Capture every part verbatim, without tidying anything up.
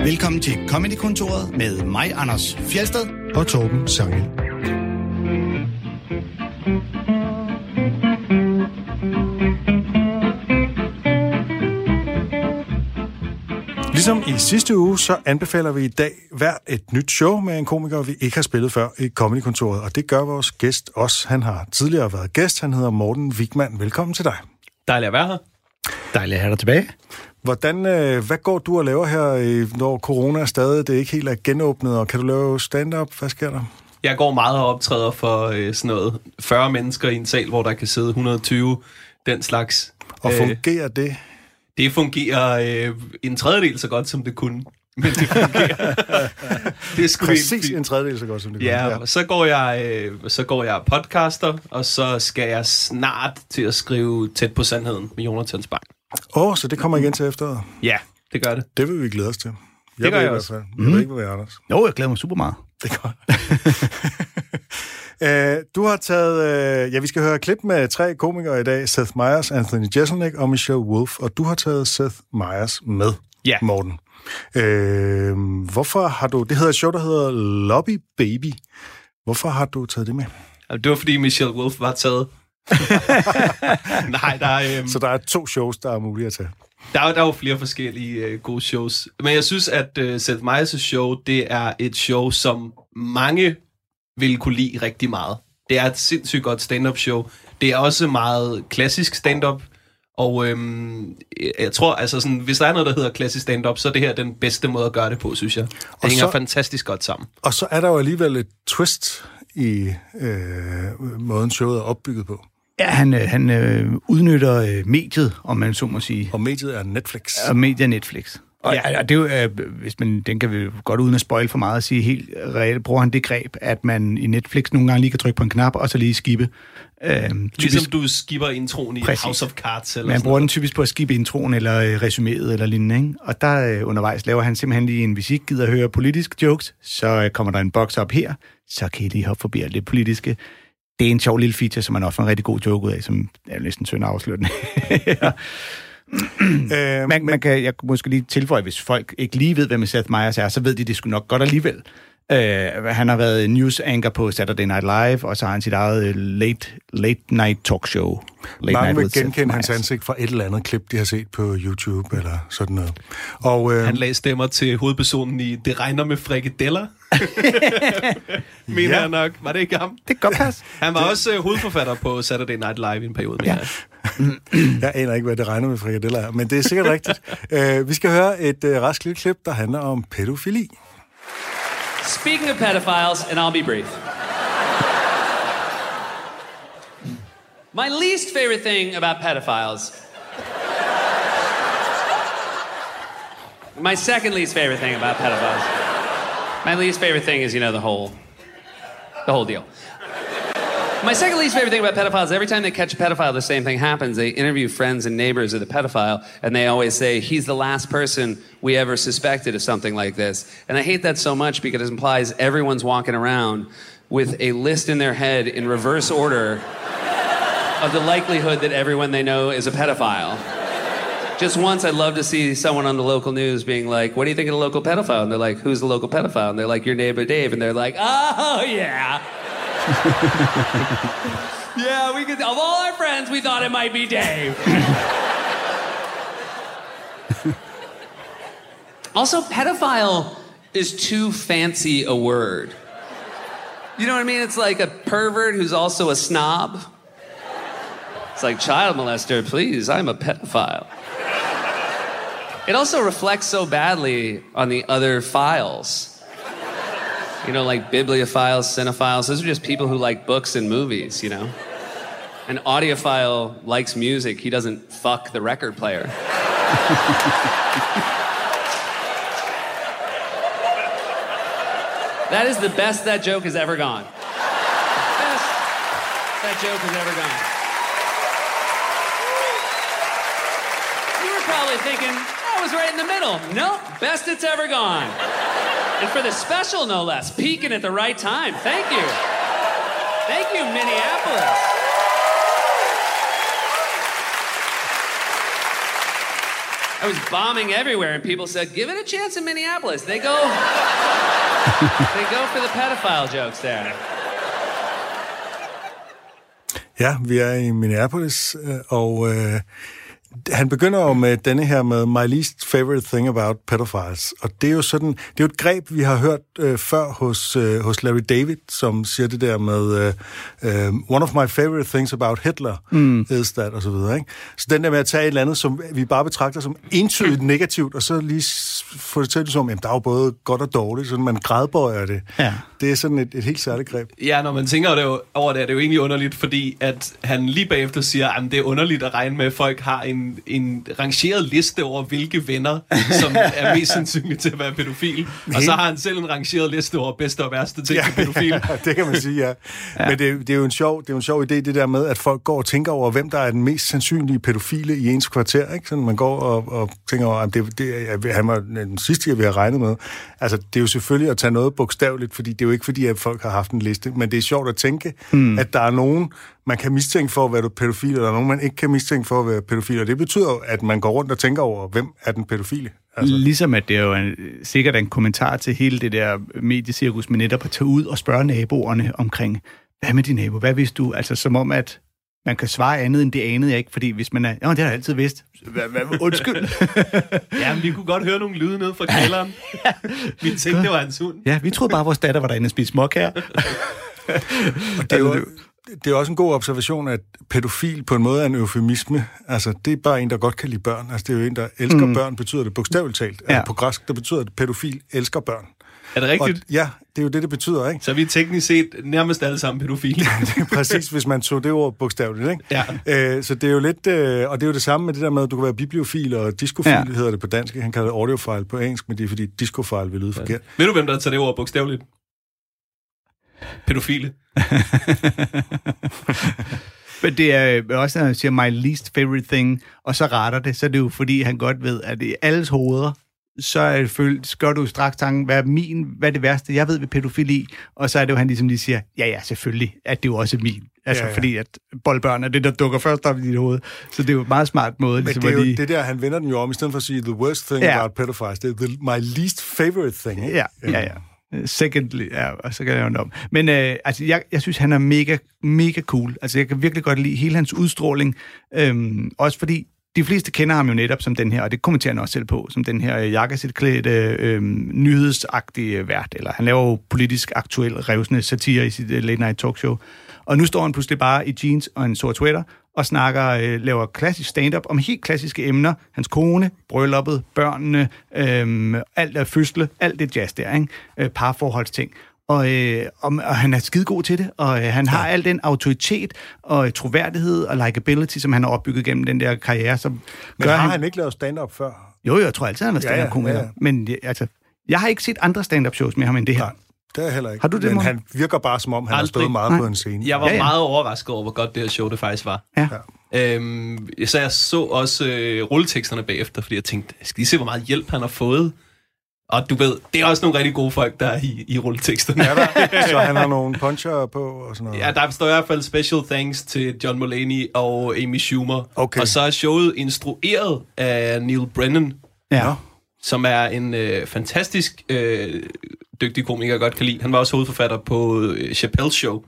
Velkommen til Comedy-kontoret med mig, Anders Fjeldsted og Torben Sangel. Ligesom i sidste uge, så anbefaler vi i dag hver et nyt show med en komiker, vi ikke har spillet før i Comedy-kontoret. Og det gør vores gæst også. Han har tidligere været gæst. Han hedder Morten Wigman. Velkommen til dig. Dejligt at være her. Dejligt at have dig tilbage. Hvordan, øh, hvad går du og laver her, når corona er stadig det ikke helt er genåbnet? Og kan du lave stand-up? Hvad sker der? Jeg går meget og optræder for øh, sådan noget fyrre mennesker i en sal, hvor der kan sidde et hundrede og tyve, den slags. Og fungerer øh, det? Det fungerer øh, en tredjedel så godt, som det kunne. Men det fungerer. Det er sgu præcis en tredjedel så godt, som det kunne. Ja, og så går jeg, øh, så går jeg podcaster, og så skal jeg snart til at skrive Tæt på sandheden med Jonathan Spang. Åh, oh, så det kommer igen til efteråret? Ja, det gør det. Det vil vi glæde os til. Jeg det gør ved jeg også. Jeg mm. ved ikke, hvad jeg er, Anders. Jo, jeg glæder mig super meget. Det er godt. uh, du har taget... Uh, ja, vi skal høre et klip med tre komikere i dag. Seth Meyers, Anthony Jeselnik og Michelle Wolf. Og du har taget Seth Meyers med, ja. Morten. Uh, hvorfor har du... Det hedder et show, der hedder Lobby Baby. Hvorfor har du taget det med? Det var, fordi Michelle Wolf var taget. Nej, der er... Um... Så der er to shows, der er mulige at tage. Der er, der er jo flere forskellige uh, gode shows. Men jeg synes, at uh, Seth Meyers' show, det er et show, som mange vil kunne lide rigtig meget. Det er et sindssygt godt stand-up show. Det er også meget klassisk stand-up. Og øhm, jeg tror, altså sådan, hvis der er noget, der hedder klassisk stand-up, så er det her den bedste måde at gøre det på, synes jeg. Det og hænger så, fantastisk godt sammen. Og så er der jo alligevel et twist i øh, måden showet er opbygget på. Ja, han, han øh, udnytter øh, mediet, om man så må sige. Og mediet er Netflix. Og mediet er Netflix. Og ja, det er jo, øh, hvis man, den kan vi godt uden at spoil for meget at sige, helt reelt bruger han det greb, at man i Netflix nogle gange lige kan trykke på en knap, og så lige skippe. Øh, typisk, ligesom du skipper introen i præcis. House of Cards. Eller man bruger den typisk på at skippe introen, eller øh, resuméet, eller lignende, ikke? Og der øh, undervejs laver han simpelthen lige en, hvis I ikke gider at høre politiske jokes, så øh, kommer der en boks op her, så kan I lige hoppe forbi alt det politiske. Det er en sjov lille feature, som man også får en rigtig god joke ud af, som er næsten synd afslutning. ja. øh, man, man kan, jeg kunne måske lige tilføje, hvis folk ikke lige ved, hvem Seth Meyers er, så ved de det sgu nok godt alligevel. Øh, han har været news anchor på Saturday Night Live, og så har han sit eget late, late night talk show. Late Mange night vil genkende hans ansigt fra et eller andet klip, de har set på YouTube eller sådan noget. Og, øh, han lagde stemmer til hovedpersonen i Det regner med frikadeller. Mener ja. jeg nok. Var det ikke ham? Det kan godt passe. Han var det... også uh, hovedforfatter på Saturday Night Live i en periode. Ja. Jeg aner ikke, hvad Det regner med frikadeller er, men det er sikkert rigtigt. Uh, vi skal høre et uh, rask lille klip, der handler om pædofili. Speaking of pedophiles, and I'll be brief. My least favorite thing about pedophiles. My second least favorite thing about pedophiles. My least favorite thing is, you know, the whole, the whole deal. My second least favorite thing about pedophiles, every time they catch a pedophile, the same thing happens. They interview friends and neighbors of the pedophile, and they always say, he's the last person we ever suspected of something like this. And I hate that so much because it implies everyone's walking around with a list in their head in reverse order of the likelihood that everyone they know is a pedophile. Just once, I'd love to see someone on the local news being like, what do you think of the local pedophile? And they're like, who's the local pedophile? And they're like, your neighbor Dave. And they're like, oh, yeah. Yeah, we could, of all our friends, we thought it might be Dave. Also, pedophile is too fancy a word. You know what I mean? It's like a pervert who's also a snob. It's like, child molester, please, I'm a pedophile. It also reflects so badly on the other files. You know, like bibliophiles, cinephiles, those are just people who like books and movies, you know? An audiophile likes music, he doesn't fuck the record player. That is the best that joke has ever gone. Best that joke has ever gone. You were probably thinking, I was right in the middle. Nope, best it's ever gone. And for the special, no less, peaking at the right time. Thank you. Thank you, Minneapolis. I was bombing everywhere, and people said, give it a chance in Minneapolis. They go, they go for the pedophile jokes there. Ja, vi er i Minneapolis, og øh, han begynder jo med denne her med My least favorite thing about pedophiles. Og det er jo sådan, det er jo et greb, vi har hørt øh, før hos, øh, hos Larry David, som siger det der med øh, øh, one of my favorite things about Hitler mm. is that, og så videre, ikke? Så den der med at tage et eller andet, som vi bare betragter som entydigt negativt, og så lige få det til som, jamen der er jo både godt og dårligt, sådan man gradbøjer det. Ja. Det er sådan et, et helt særligt greb. Ja, når man tænker det jo, over det, er det jo egentlig underligt, fordi at han lige bagefter siger, at det er underligt at regne med, at folk har en, en rangeret liste over, hvilke venner, som er mest sandsynlige til at være pædofil. Og så har han selv en rangeret liste over bedste og værste ting til pædofil. Ja, det kan man sige, ja. ja. Men det, det, er jo en sjov, det er jo en sjov idé, det der med, at folk går og tænker over, hvem der er den mest sandsynlige pædofile i ens kvarter. Ikke? Sådan, man går og, og tænker over, at det, det, han var den sidste, jeg vi har regnet med. Altså, det er jo selvfølgelig at tage noget bogstaveligt, fordi det er jo ikke fordi, at folk har haft en liste, men det er sjovt at tænke, mm. at der er nogen, man kan mistænke for at være pædofil, og der er nogen, man ikke kan mistænke for at være pædofil, og det betyder jo, at man går rundt og tænker over, hvem er den pædofile. Altså. Ligesom at det er jo en, sikkert en kommentar til hele det der mediecirkus, med netop at tage ud og spørge naboerne omkring, hvad med din nabo, hvad vidste du? Altså som om, at man kan svare andet end det anede jeg ikke, fordi hvis man er, ja, det har jeg altid vidst. Hvad, hvad, undskyld. Ja, men vi kunne godt høre nogle lyde nede fra kælderen. Vi tænkte, det var hans hund. Ja, vi troede bare, vores datter var derinde og spiste småkager. Og det er jo, det er også en god observation, at pædofil på en måde er en eufemisme. Altså, det er bare en, der godt kan lide børn. Altså, det er jo en, der elsker mm. børn, betyder det bogstaveligt talt. Ja. Altså, på græsk, der betyder det, at pædofil elsker børn. Er det rigtigt? Og, ja, det er jo det, det betyder, ikke? Så vi er teknisk set nærmest alle sammen pædofile. Det er præcis, hvis man tog det ord bogstaveligt, ikke? Ja. Æ, så det er jo lidt, øh, og det er jo det samme med det der med, at du kan være bibliofil og discofil, ja. hedder det på dansk. Han kalder det audiofile på engelsk, men det er fordi discofile vil lyde ja. forkert. Ved du, hvem der tager det ord bogstaveligt? Pædofile. Men det er også, når han siger my least favorite thing, og så retter det, så er det jo fordi, han godt ved, at i alles hoveder, så er det følt, skal du straks tanken, hvad er min, hvad er det værste, jeg ved ved pædofili, og så er det jo, han ligesom lige siger, ja ja, selvfølgelig, at det jo også er min. Altså, ja, ja. Fordi at boldbørn er det, der dukker først op i dit hoved. Så det er jo en meget smart måde. Men ligesom det er jo lige... det der, han vender den jo om, i stedet for at sige, the worst thing ja. about pedophiles, det er the, my least favorite thing. Ikke? Ja, ja, ja. Secondly, ja, og så kan jeg jo om. Men øh, altså, jeg, jeg synes, han er mega, mega cool. Altså, jeg kan virkelig godt lide hele hans udstråling. Øhm, også fordi de fleste kender ham jo netop som den her, og det kommenterer han også selv på, som den her jakkesætklædte, øh, nyhedsagtige vært. Eller han laver jo politisk aktuel revsende satire i sit uh, late night talkshow. Og nu står han pludselig bare i jeans og en sort sweater og snakker, øh, laver klassisk stand-up om helt klassiske emner. Hans kone, brylluppet, børnene, øh, alt er fødsle, alt det jazz der, ikke? Øh, parforholdsting. Og, øh, og, og han er skidegod til det, og øh, han har ja. al den autoritet og troværdighed og likability, som han har opbygget gennem den der karriere. Som Men gør, har han, han ikke lavet stand-up før? Jo, jo, jeg tror altid, han har været stand-up-komiker. Ja, ja, ja. Men altså, jeg har ikke set andre stand-up-shows med ham end det her. Nej. Det er heller ikke. Har du det, Men man? han virker bare, som om han Aldrig. har stået meget Nej. på en scene. Jeg var ja, ja. meget overrasket over, hvor godt det her show det faktisk var. Ja. Øhm, så jeg så også øh, rulleteksterne bagefter, fordi jeg tænkte, skal I se, hvor meget hjælp han har fået? Og du ved, det er også nogle rigtig gode folk, der er i, i rulleteksterne. Ja, der. Så han har nogle puncher på og sådan noget. Ja, der står i hvert fald special thanks til John Mulaney og Amy Schumer. Okay. Og så er showet instrueret af Neil Brennan, Ja. som er en øh, fantastisk øh, dygtig komiker, jeg godt kan lide. Han var også hovedforfatter på øh, Chappelle's Show.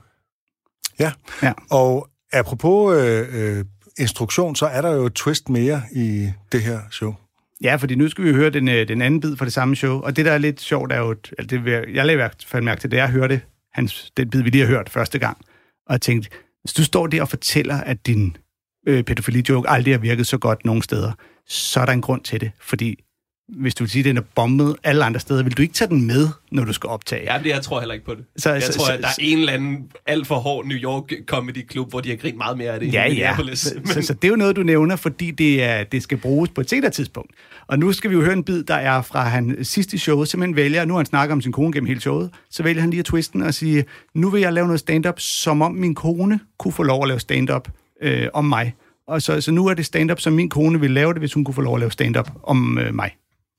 Ja, ja. Og apropos øh, øh, instruktion, så er der jo et twist mere i det her show. Ja, fordi nu skal vi høre den, den anden bid fra det samme show, og det, der er lidt sjovt, er jo, at det, jeg lavede i hvert fald mærke til, da jeg hørte hans, den bid, vi lige har hørt første gang, og jeg tænkte, hvis du står der og fortæller, at din øh, pædofili-joke aldrig har virket så godt nogen steder, så er der en grund til det, fordi hvis du vil sige, at den er bombet alle andre steder, vil du ikke tage den med, når du skal optage? Ja, det, jeg tror heller ikke på det. Så, jeg så, tror, så, at der er en eller anden alt for hård New York Comedy Club, hvor de har grint meget mere af det. Ja, ja. Så, Men... så, så det er jo noget, du nævner, fordi det, er, det skal bruges på et senere tidspunkt. Og nu skal vi jo høre en bid, der er fra han sidste show, simpelthen vælger, nu har han snakket om sin kone gennem hele showet, så vælger han lige at twisten og sige, nu vil jeg lave noget stand-up, som om min kone kunne få lov at lave stand-up øh, om mig. Og så, så nu er det stand-up, som min kone ville lave det, hvis hun kunne få lov at lave stand-up om øh, mig.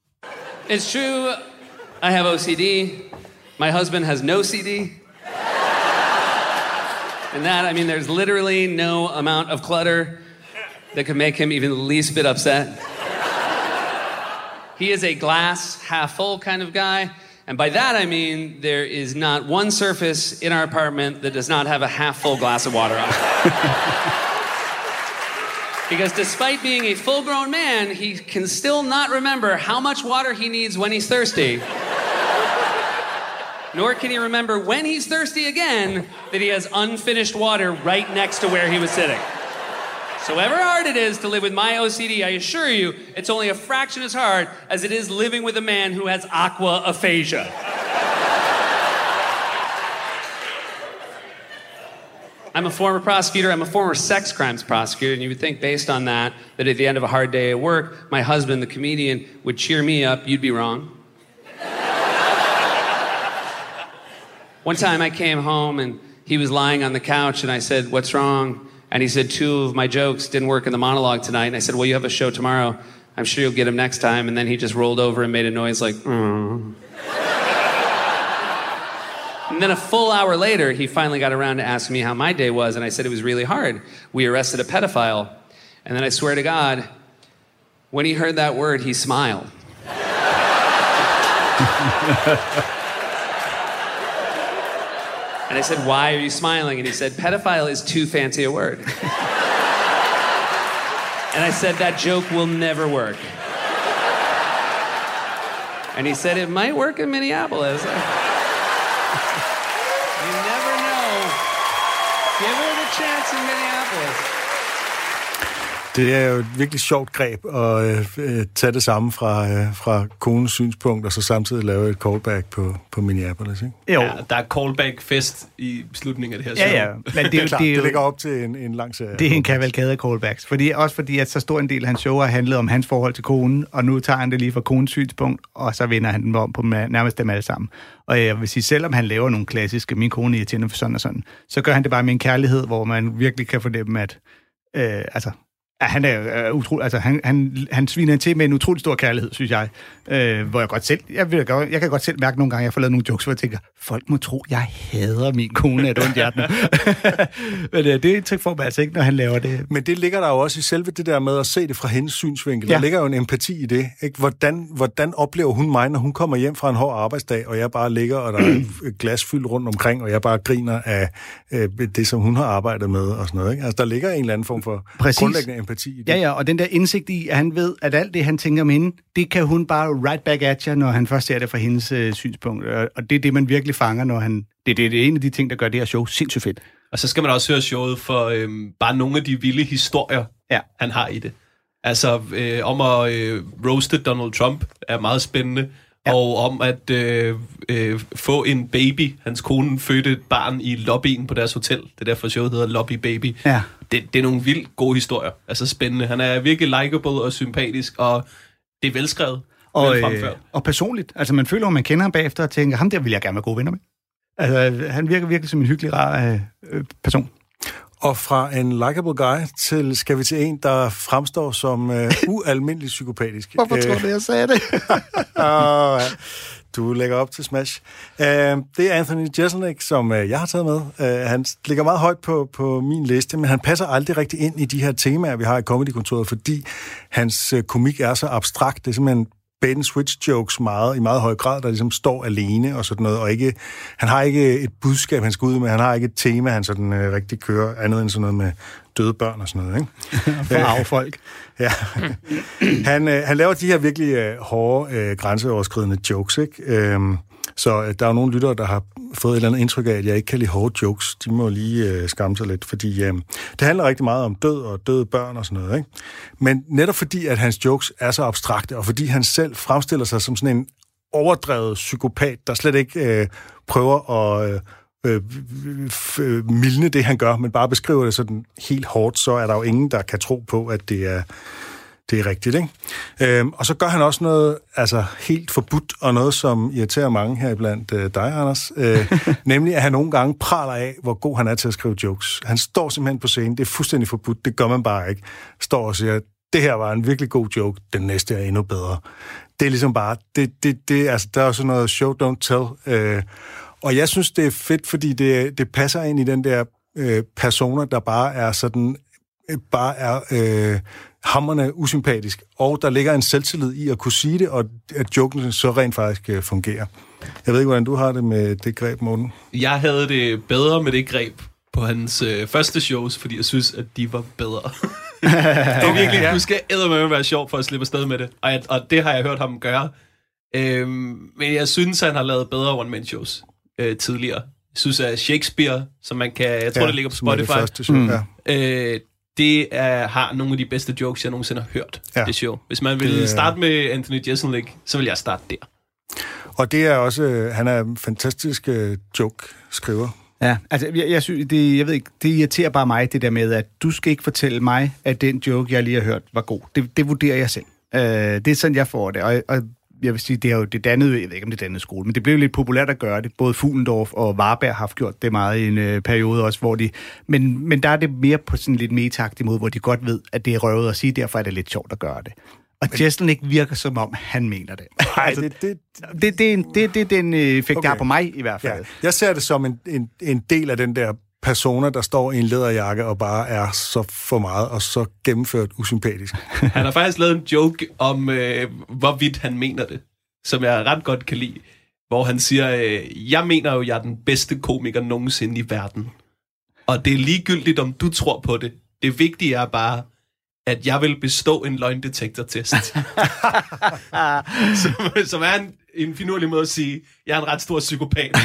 It's true, I have O C D. My husband has no C D. And that, I mean, there's literally no amount of clutter that could make him even the least bit upset. He is a glass half full kind of guy. And by that I mean there is not one surface in our apartment that does not have a half full glass of water on it. Because despite being a full-grown man, he can still not remember how much water he needs when he's thirsty. Nor can he remember when he's thirsty again that he has unfinished water right next to where he was sitting. So however hard it is to live with my O C D, I assure you, it's only a fraction as hard as it is living with a man who has aquaphasia. I'm a former prosecutor. I'm a former sex crimes prosecutor, and you would think based on that, that at the end of a hard day at work, my husband, the comedian, would cheer me up. You'd be wrong. One time I came home, and he was lying on the couch, and I said, "What's wrong?" And he said, two of my jokes didn't work in the monologue tonight. And I said, well, you have a show tomorrow. I'm sure you'll get them next time. And then he just rolled over and made a noise like, mm. And then a full hour later, he finally got around to asking me how my day was. And I said it was really hard. We arrested a pedophile. And then I swear to God, when he heard that word, he smiled. And I said, why are you smiling? And he said, pedophile is too fancy a word. And I said, that joke will never work. And he said, it might work in Minneapolis. You never know. Give it a chance in Minneapolis. Det er jo et virkelig sjovt greb at øh, tage det samme fra, øh, fra konens synspunkt, og så samtidig lave et callback på, på Minneapolis, ikke? Jo. Ja, der er callback-fest i slutningen af det her show. Ja, ja. Men det, det er klart, det, er det ligger op til en, en lang serie. Det er en kavalkade af callbacks. Fordi, også fordi, at så stor en del af hans show har handlet om hans forhold til konen, og nu tager han det lige fra konens synspunkt, og så vender han dem om på nærmest dem alle sammen. Og jeg vil sige, selvom han laver nogle klassiske, min kone irriterende for sådan og sådan, så gør han det bare med en kærlighed, hvor man virkelig kan fornemme, at øh, altså, Ja, han er uh, utrolig, altså han, han, han sviner til med en utrolig stor kærlighed, synes jeg. Uh, hvor jeg godt selv, jeg, vil, jeg kan godt selv mærke nogle gange, at jeg får lavet nogle jokes, hvor jeg tænker, folk må tro, jeg hader min kone af et ondt hjerte. Men uh, det er indtryk for mig altså ikke, når han laver det. Men det ligger der jo også i selve det der med at se det fra hendes synsvinkel. Ja. Der ligger jo en empati i det. Ikke? Hvordan, hvordan oplever hun mig, når hun kommer hjem fra en hård arbejdsdag, og jeg bare ligger, og der er et glas fyldt rundt omkring, og jeg bare griner af øh, det, som hun har arbejdet med, og sådan noget. Ikke? Altså, der ligger en eller anden form for Præcis. grundlæggende empati i det. Ja, ja, og den der indsigt i, at han ved, at alt det, han tænker om hende, det kan hun bare right back at jer, når han først ser det fra hendes øh, synspunkt. Og det er det, man virkelig fanger, når han... Det, det, det er en af de ting, der gør det her show sindssygt fedt. Og så skal man også høre showet for øhm, bare nogle af de vilde historier, ja. han har i det. Altså, øh, om at øh, roaste Donald Trump er meget spændende. Ja. Og om at øh, øh, få en baby. Hans kone fødte et barn i lobbyen på deres hotel. Det er derfor showet hedder Lobby Baby. Ja. Det, det er nogle vildt gode historier. Altså spændende. Han er virkelig likeable og sympatisk, og det er velskrevet. Og, øh, og personligt. Altså man føler, at man kender ham bagefter og tænker, ham der vil jeg gerne være gode venner med. Altså han virker virkelig som en hyggelig, rar øh, person. Og fra en likable guy til, skal vi til en, der fremstår som uh, ualmindelig psykopatisk. Hvorfor tror du, jeg sagde det? oh, ja. Du lægger op til Smash. Uh, det er Anthony Jeselnik, som uh, jeg har taget med. Uh, han ligger meget højt på, på min liste, men han passer aldrig rigtig ind i de her temaer, vi har i Comedy-kontoret, fordi hans uh, komik er så abstrakt. Det er simpelthen bait and switch jokes meget, i meget høj grad, der ligesom står alene og sådan noget, og ikke, han har ikke et budskab, han skal ud med, han har ikke et tema, han sådan øh, rigtig kører, andet end sådan noget med døde børn og sådan noget, ikke? For arve folk. Ja. han, øh, han laver de her virkelig øh, hårde, øh, grænseoverskridende jokes, ikke? Øhm, så øh, der er jo nogle lyttere, der har fået et eller andet indtryk af, at jeg ikke kan lide hårde jokes. De må lige øh, skamme sig lidt, fordi øh, det handler rigtig meget om død og døde børn og sådan noget, ikke? Men netop fordi, at hans jokes er så abstrakte, og fordi han selv fremstiller sig som sådan en overdrevet psykopat, der slet ikke øh, prøver at øh, øh, mildne det, han gør, men bare beskriver det sådan helt hårdt, så er der jo ingen, der kan tro på, at det er Det er rigtigt, ikke? Øhm, og så gør han også noget altså helt forbudt, og noget, som irriterer mange her iblandt øh, dig, Anders. Øh, nemlig, at han nogle gange praler af, hvor god han er til at skrive jokes. Han står simpelthen på scenen, det er fuldstændig forbudt, det gør man bare ikke. Står og siger, det her var en virkelig god joke, den næste er endnu bedre. Det er ligesom bare, det, det, det, altså, der er jo sådan noget show, don't tell. Øh, og jeg synes, det er fedt, fordi det, det passer ind i den der øh, personer, der bare er sådan bare er øh, hamrende usympatisk, og der ligger en selvtillid i at kunne sige det, og at joken så rent faktisk øh, fungerer. Jeg ved ikke, hvordan du har det med det greb, Morten? Jeg havde det bedre med det greb på hans øh, første shows, fordi jeg synes, at de var bedre. Det er virkelig, ja. Du skal eddermame være sjov for at slippe afsted med det, og, jeg, og det har jeg hørt ham gøre. Øhm, men jeg synes, han har lavet bedre one-man-shows øh, tidligere. Jeg synes, at Shakespeare, som man kan... Jeg tror, ja, det ligger på Spotify. Det, første show, mm. ja. øh, det er, har nogle af de bedste jokes, jeg nogensinde har hørt, ja. Det show. Hvis man vil det, starte med Anthony Jeselnik, så vil jeg starte der. Og det er også... Han er en fantastisk uh, joke-skriver. Ja, altså, jeg, jeg, synes, det, jeg ved ikke, det irriterer bare mig, det der med, at du skal ikke fortælle mig, at den joke, jeg lige har hørt, var god. Det, det vurderer jeg selv. Uh, det er sådan, jeg får det, og, og jeg vil sige, det er jo det dannede, jeg ved ikke, om det dannede skole, men det blev lidt populært at gøre det. Både Fuglendorf og Varberg har gjort det meget i en øh, periode også, hvor de... Men, men der er det mere på sådan lidt metagtig måde, hvor de godt ved, at det er røvet at sige, derfor er det lidt sjovt at gøre det. Og Jeselnik virker som om, han mener det. Nej, altså, det, det, det, det, er en, det, det er den effekt, okay. Der har på mig i hvert fald. Ja. Jeg ser det som en, en, en del af den der personer, der står i en læderjakke og bare er så for meget og så gennemført usympatisk. Han har faktisk lavet en joke om, øh, hvorvidt han mener det, som jeg ret godt kan lide, hvor han siger, øh, jeg mener jo, jeg er den bedste komiker nogensinde i verden. Og det er ligegyldigt, om du tror på det. Det vigtige er bare, at jeg vil bestå en løgndetektortest. som, som er en, en finurlig måde at sige, jeg er en ret stor psykopat.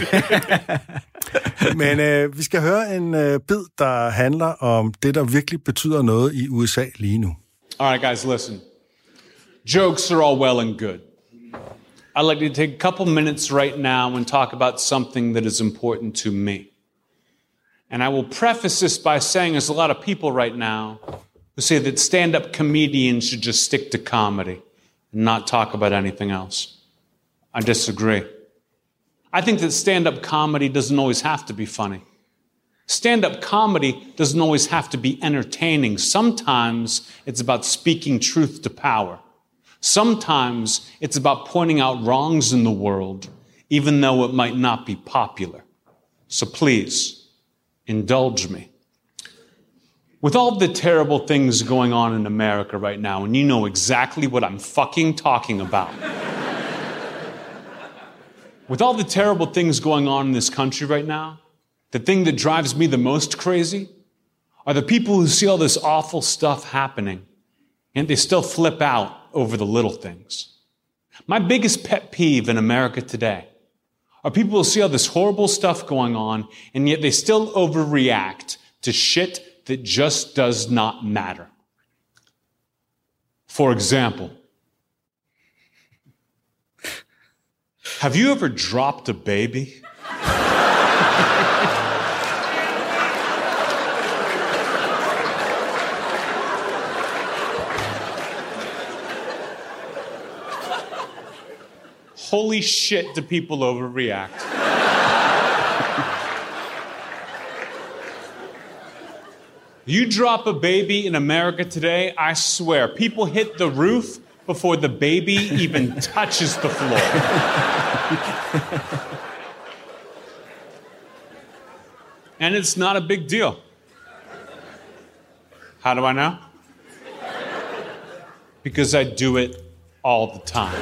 Men øh, vi skal høre en øh, bid, der handler om det, der virkelig betyder noget i U S A lige nu. All right, guys, listen. Jokes are all well and good. I'd like to take a couple minutes right now and talk about something that is important to me. And I will preface this by saying there's a lot of people right now who say that stand-up comedians should just stick to comedy and not talk about anything else. I disagree. I think that stand-up comedy doesn't always have to be funny. Stand-up comedy doesn't always have to be entertaining. Sometimes it's about speaking truth to power. Sometimes it's about pointing out wrongs in the world, even though it might not be popular. So please, indulge me. With all the terrible things going on in America right now, and you know exactly what I'm fucking talking about. With all the terrible things going on in this country right now, the thing that drives me the most crazy are the people who see all this awful stuff happening, and they still flip out over the little things. My biggest pet peeve in America today are people who see all this horrible stuff going on, and yet they still overreact to shit that just does not matter. For example, have you ever dropped a baby? Holy shit, do people overreact. You drop a baby in America today, I swear, people hit the roof before the baby even touches the floor. And it's not a big deal. How do I know? Because I do it all the time.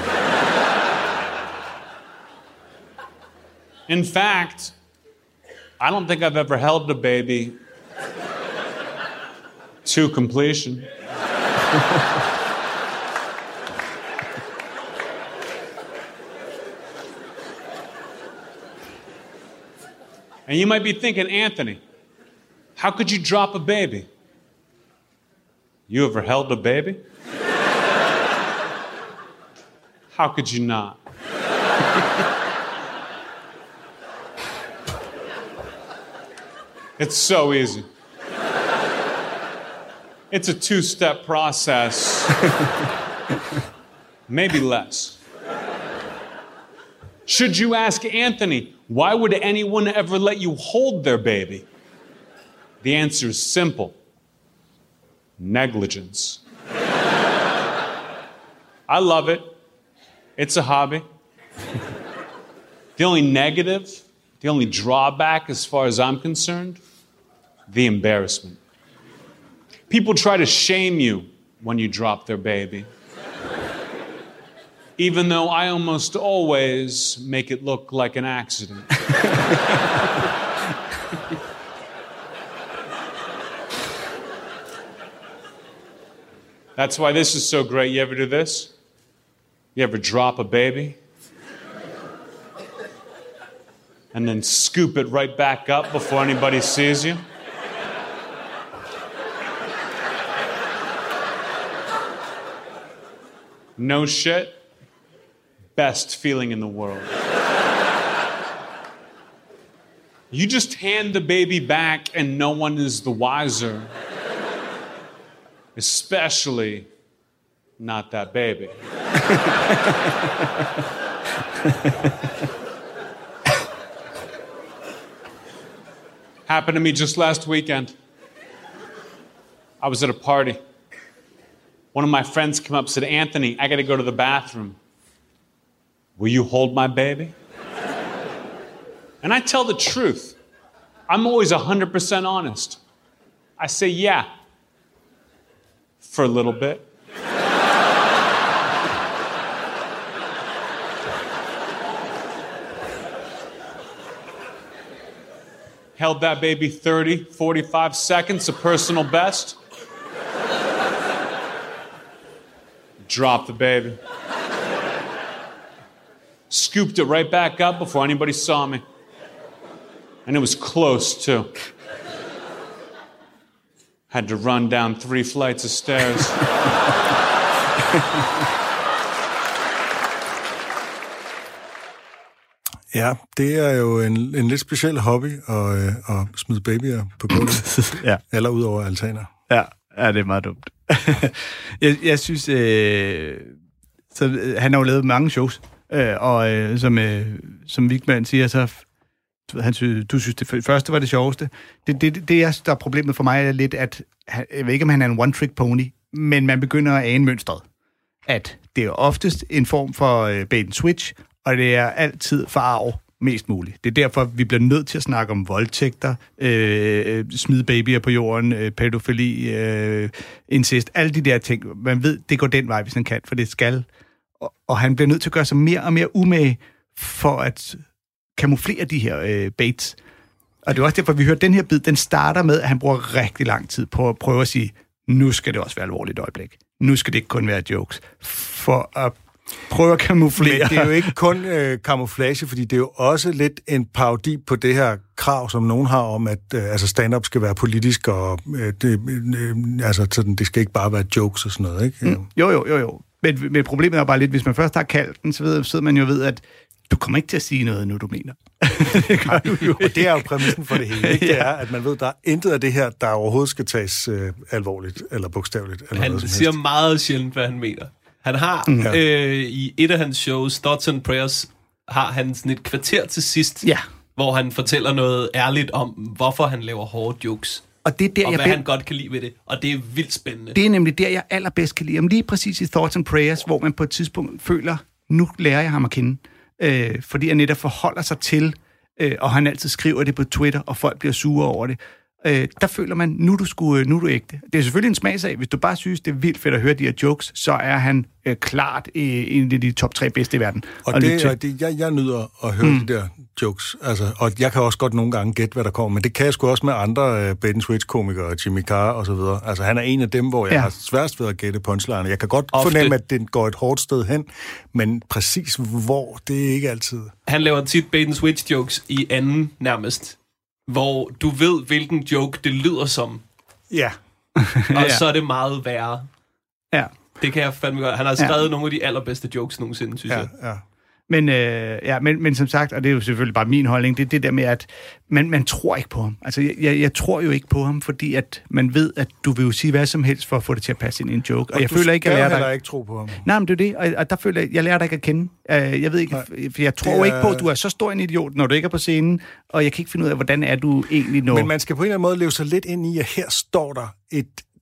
In fact, I don't think I've ever held a baby to completion. And you might be thinking, Anthony, how could you drop a baby? You ever held a baby? How could you not? It's so easy. It's a two-step process. Maybe less. Should you ask Anthony, why would anyone ever let you hold their baby? The answer is simple. Negligence. I love it. It's a hobby. The only negative, the only drawback as far as I'm concerned, the embarrassment. People try to shame you when you drop their baby. Even though I almost always make it look like an accident. That's why this is so great. You ever do this? You ever drop a baby? And then scoop it right back up before anybody sees you? No shit. Best feeling in the world. You just hand the baby back and no one is the wiser. Especially not that baby. Happened to me just last weekend. I was at a party. One of my friends came up and said, Anthony, I gotta go to the bathroom. Will you hold my baby? And I tell the truth. I'm always one hundred percent honest. I say, yeah. For a little bit. Held that baby thirty, forty-five seconds, a personal best. Dropped the baby. Scooped it right back up before anybody saw me. And it was close, too. Had to run down three flights of stairs. Ja, det er jo en, en lidt speciel hobby at, øh, at smide babyer på gulvet. Ja. Eller ud over altaner. Ja, ja, det er meget dumt. jeg, jeg synes, øh, så, øh, han har jo lavet mange shows, øh, og øh, som, øh, som Wigman siger, så han synes, du synes, det første var det sjoveste. Det, det, det er, der er problemet for mig er lidt, at jeg ved ikke, om han er en one-trick pony, men man begynder at ane mønstret. At det er oftest en form for øh, bait and switch, og det er altid forarv mest muligt. Det er derfor, vi bliver nødt til at snakke om voldtægter, øh, smide babyer på jorden, øh, pædofili, øh, incest, alle de der ting. Man ved, det går den vej, hvis han kan, for det skal. Og, og han bliver nødt til at gøre sig mere og mere umage for at kamuflere de her øh, baits. Og det er også derfor, vi hører, den her bid, den starter med, at han bruger rigtig lang tid på at prøve at sige, nu skal det også være alvorligt øjeblik. Nu skal det ikke kun være jokes. For at prøve at kamuflere. Men det er jo ikke kun øh, kamuflage, fordi det er jo også lidt en parodi på det her krav, som nogen har om, at øh, altså stand-up skal være politisk, og øh, det, øh, altså, sådan, det skal ikke bare være jokes og sådan noget, ikke? Mm. Jo, jo, jo, jo. Men, men problemet er bare lidt, hvis man først har kaldt den, så ved, sidder man jo ved, at du kommer ikke til at sige noget, nu du mener. Det gør du jo. Og det er jo præmissen for det hele, ikke? Det er, at man ved, at der er intet af det her, der overhovedet skal tages øh, alvorligt eller bogstaveligt. Eller han noget siger meget sjældent, hvad han mener. Han har mm. øh, i et af hans shows, Thoughts and Prayers, har han sådan et kvarter til sidst, ja. hvor han fortæller noget ærligt om, hvorfor han laver hårde jokes. Og, det er der, og jeg hvad be- han godt kan lide ved det. Og det er vildt spændende. Det er nemlig der, jeg allerbedst kan lide. Om lige præcis i Thoughts and Prayers, hvor man på et tidspunkt føler, nu lærer jeg ham at kende. Øh, fordi han netop forholder sig til, øh, og han altid skriver det på Twitter, og folk bliver sure over det. Øh, der føler man, nu er du, sgu, nu er du ægte. Det er selvfølgelig en smagsag. Hvis du bare synes, det er vildt fedt at høre de her jokes, så er han øh, klart øh, en af de top tre bedste i verden. Og det, og det jeg, jeg nyder at høre mm. de der jokes. Altså, og jeg kan også godt nogle gange gætte, hvad der kommer, men det kan jeg sgu også med andre øh, bait and switch-komikere, Jimmy Carr og så videre. Altså, han er en af dem, hvor jeg ja. har sværest ved at gætte punchline. Jeg kan godt Ofte. fornemme, at det går et hårdt sted hen, men præcis hvor, det er ikke altid. Han laver tit bait and switch-jokes i anden nærmest, hvor du ved, hvilken joke det lyder som. Ja. Og ja. så er det meget værre. Ja. Det kan jeg fandme godt. Han har skrevet ja. nogle af de allerbedste jokes nogensinde, synes ja, jeg. Ja. Men, øh, ja, men, men som sagt, og det er jo selvfølgelig bare min holdning, det er det der med, at man, man tror ikke på ham. Altså, jeg, jeg tror jo ikke på ham, fordi at man ved, at du vil jo sige hvad som helst for at få det til at passe ind i en joke. Og, og jeg du føler ikke, at jeg lærer dig... dig... ikke tro på ham. Nej, men det er det, og, og der føler jeg, jeg lærer dig ikke at kende. Uh, jeg ved ikke, Nej, for jeg tror er... ikke på, at du er så stor en idiot, når du ikke er på scenen, og jeg kan ikke finde ud af, hvordan er du egentlig når... Men man skal på en eller anden måde leve sig lidt ind i, at her står der et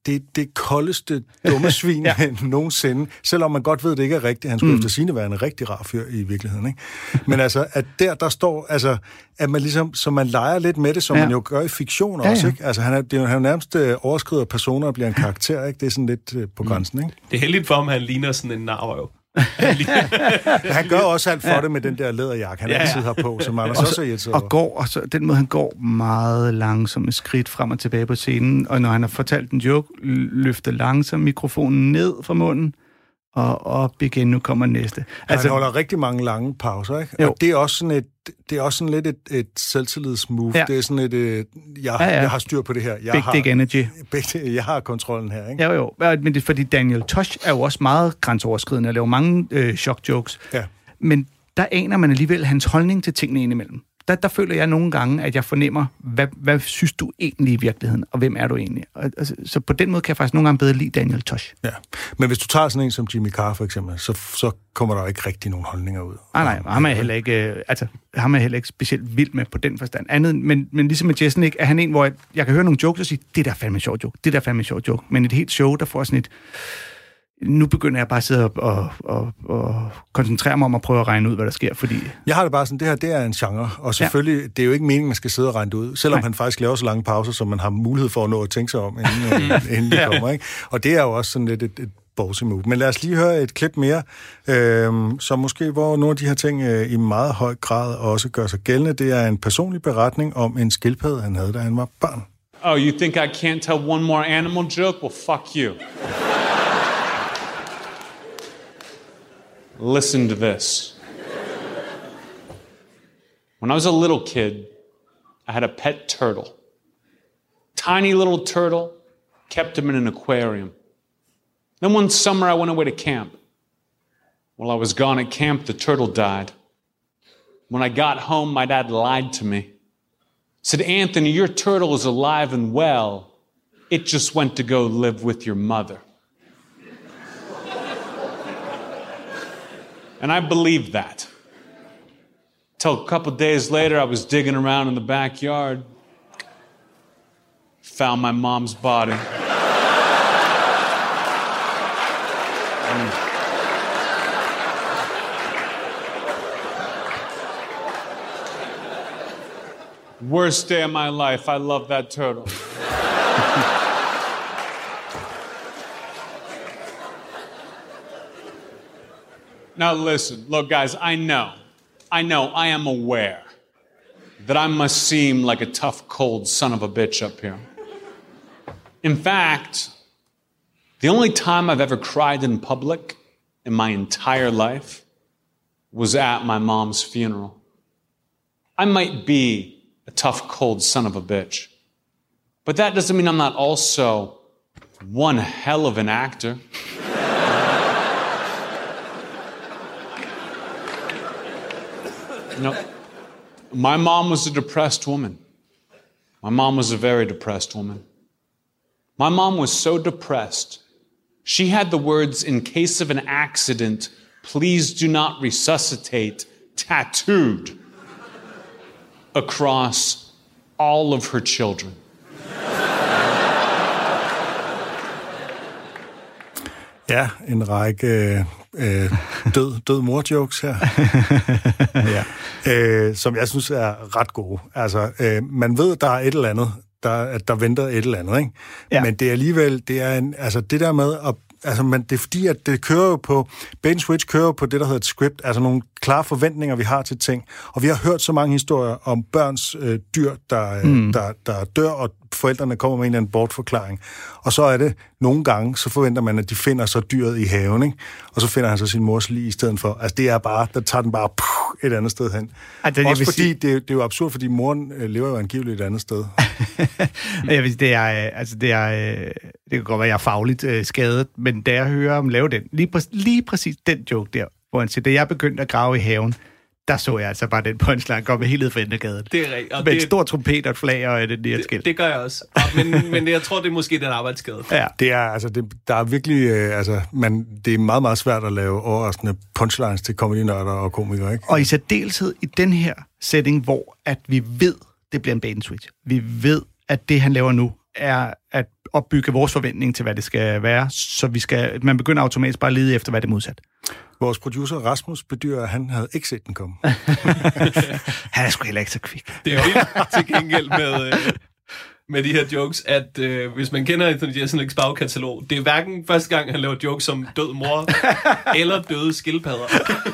det, det koldeste dumme svin ja. nogensinde, selvom man godt ved, det ikke er rigtigt. Han skulle mm. efter sigende være en rigtig rar fyr i virkeligheden, ikke? Men altså, at der, der står, altså, at man ligesom, så man leger lidt med det, som ja. man jo gør i fiktion ja, også, ja. ikke? Altså, han er, det er jo, han er jo nærmest øh, overskrider personer og bliver en karakter, ikke? Det er sådan lidt øh, på grænsen, ikke? Det er heldigt for ham, han ligner sådan en narrøv. Han gør også alt for ja. det med den der læderjakke, han ja, ja. altid har på, som Anders også er irriteret over. Og går, og så, den måde, han går meget langsomt med skridt frem og tilbage på scenen, og når han har fortalt en joke, løfter langsomt mikrofonen ned fra munden, og op igen, nu kommer næste. Altså, han holder rigtig mange lange pauser, ikke? Jo. Og det er også sådan et, det er også sådan lidt et, et selvtillidsmove. Ja. Det er sådan et, et jeg, ja, ja. jeg har styr på det her. Jeg Big har, dick energy. Big, jeg har kontrollen her, ikke? Jo, jo. Men det er fordi Daniel Tosh er jo også meget grænseoverskridende og laver mange øh, shock-jokes. Ja. Men der aner man alligevel hans holdning til tingene indimellem. Der, der føler jeg nogle gange, at jeg fornemmer, hvad, hvad synes du egentlig i virkeligheden, og hvem er du egentlig? Og, altså, så på den måde kan jeg faktisk nogle gange bedre lide Daniel Tosh. Ja, men hvis du tager sådan en som Jimmy Carr for eksempel, så, så kommer der ikke rigtig nogen holdninger ud. Nej, nej, ham er heller ikke, altså, ham er heller ikke specielt vild med på den forstand. Andet, men, men ligesom med Jeselnik, er han en, hvor jeg, jeg kan høre nogle jokes og sige, det der er fandme en sjov joke, det der er fandme en sjov joke. Men et helt show, der får sådan et, nu begynder jeg bare at sidde og, og, og, og koncentrere mig om at prøve at regne ud, hvad der sker, fordi... Jeg har det bare sådan, det her, det er en genre, og selvfølgelig, ja. det er jo ikke meningen, man skal sidde og regne det ud, selvom Nej. han faktisk laver så lange pauser, som man har mulighed for at nå at tænke sig om, inden, inden det kommer, ikke? Og det er jo også sådan lidt et, et ballsy move. Men lad os lige høre et klip mere, øh, som måske, hvor nogle af de her ting øh, i meget høj grad også gør sig gældende. Det er en personlig beretning om en skildpadde, han havde, da han var barn. Oh, you think I can't tell one more animal joke? Well, fuck you. Listen to this. When I was a little kid, I had a pet turtle. Tiny little turtle, kept him in an aquarium. Then one summer I went away to camp. While I was gone at camp, the turtle died. When I got home, my dad lied to me. Said, Anthony, your turtle is alive and well. It just went to go live with your mother. And I believed that. Till a couple days later, I was digging around in the backyard. Found my mom's body. Worst day of my life. I love that turtle. Now listen, look guys, I know, I know, I am aware that I must seem like a tough, cold son of a bitch up here. In fact, the only time I've ever cried in public in my entire life was at my mom's funeral. I might be a tough, cold son of a bitch, but that doesn't mean I'm not also one hell of an actor. You know, my mom was a depressed woman. My mom was a very depressed woman. My mom was so depressed, she had the words, in case of an accident, please do not resuscitate, tattooed across all of her children. Ja, en række øh, død, død mor-jokes her, ja. øh, som jeg synes er ret gode. Altså, øh, man ved, der er et eller andet, der, at der venter et eller andet, ikke? Ja. Men det er alligevel, det er en, altså det der med at Altså, man, det er fordi, at det kører jo på, Bait and Switch kører jo på det, der hedder et script, altså nogle klare forventninger, vi har til ting. Og vi har hørt så mange historier om børns øh, dyr, der, mm. der, der dør, og forældrene kommer med en eller anden bortforklaring. Og så er det, nogle gange, så forventer man, at de finder så dyret i haven, ikke? Og så finder han så sin mors lig i stedet for. Altså, det er bare, der tager den bare puh, et andet sted hen. Altså, også fordi, sige... det, det er jo absurd, fordi moren øh, lever jo angiveligt et andet sted. jeg vil, det er, altså, det er, det kan godt være, jeg er fagligt øh, skadet, men da jeg hører ham lave den, lige, præ- lige præcis den joke der, hvor han siger, da jeg begyndte at grave i haven, der så jeg altså bare den punchline komme helt ud fra Endergaden. Det er rigtigt. Med en stor trompet og et flag og et nært skilt. Det, det gør jeg også. Men, men jeg tror, det er måske den arbejdsskade. Ja. Det er, altså, det, der er virkelig, øh, altså, man, det er meget, meget svært at lave overraskende punchlines til comedy-nørder og komikere, ikke? Og i særdeleshed i den her setting, hvor at vi ved, det bliver en bait and switch. Vi ved, at det, han laver nu, er at opbygge vores forventning til, hvad det skal være, så vi skal, man begynder automatisk bare at lede efter, hvad det er modsat. Vores producer Rasmus bedyrer, at han havde ikke set den komme. Han er sgu heller ikke så kvik. Det er vildt til gengæld med, øh, med de her jokes, at øh, hvis man kender Anthony Jeselnik's bagkatalog, det er hverken første gang, han laver jokes som død mor eller døde skildpadder.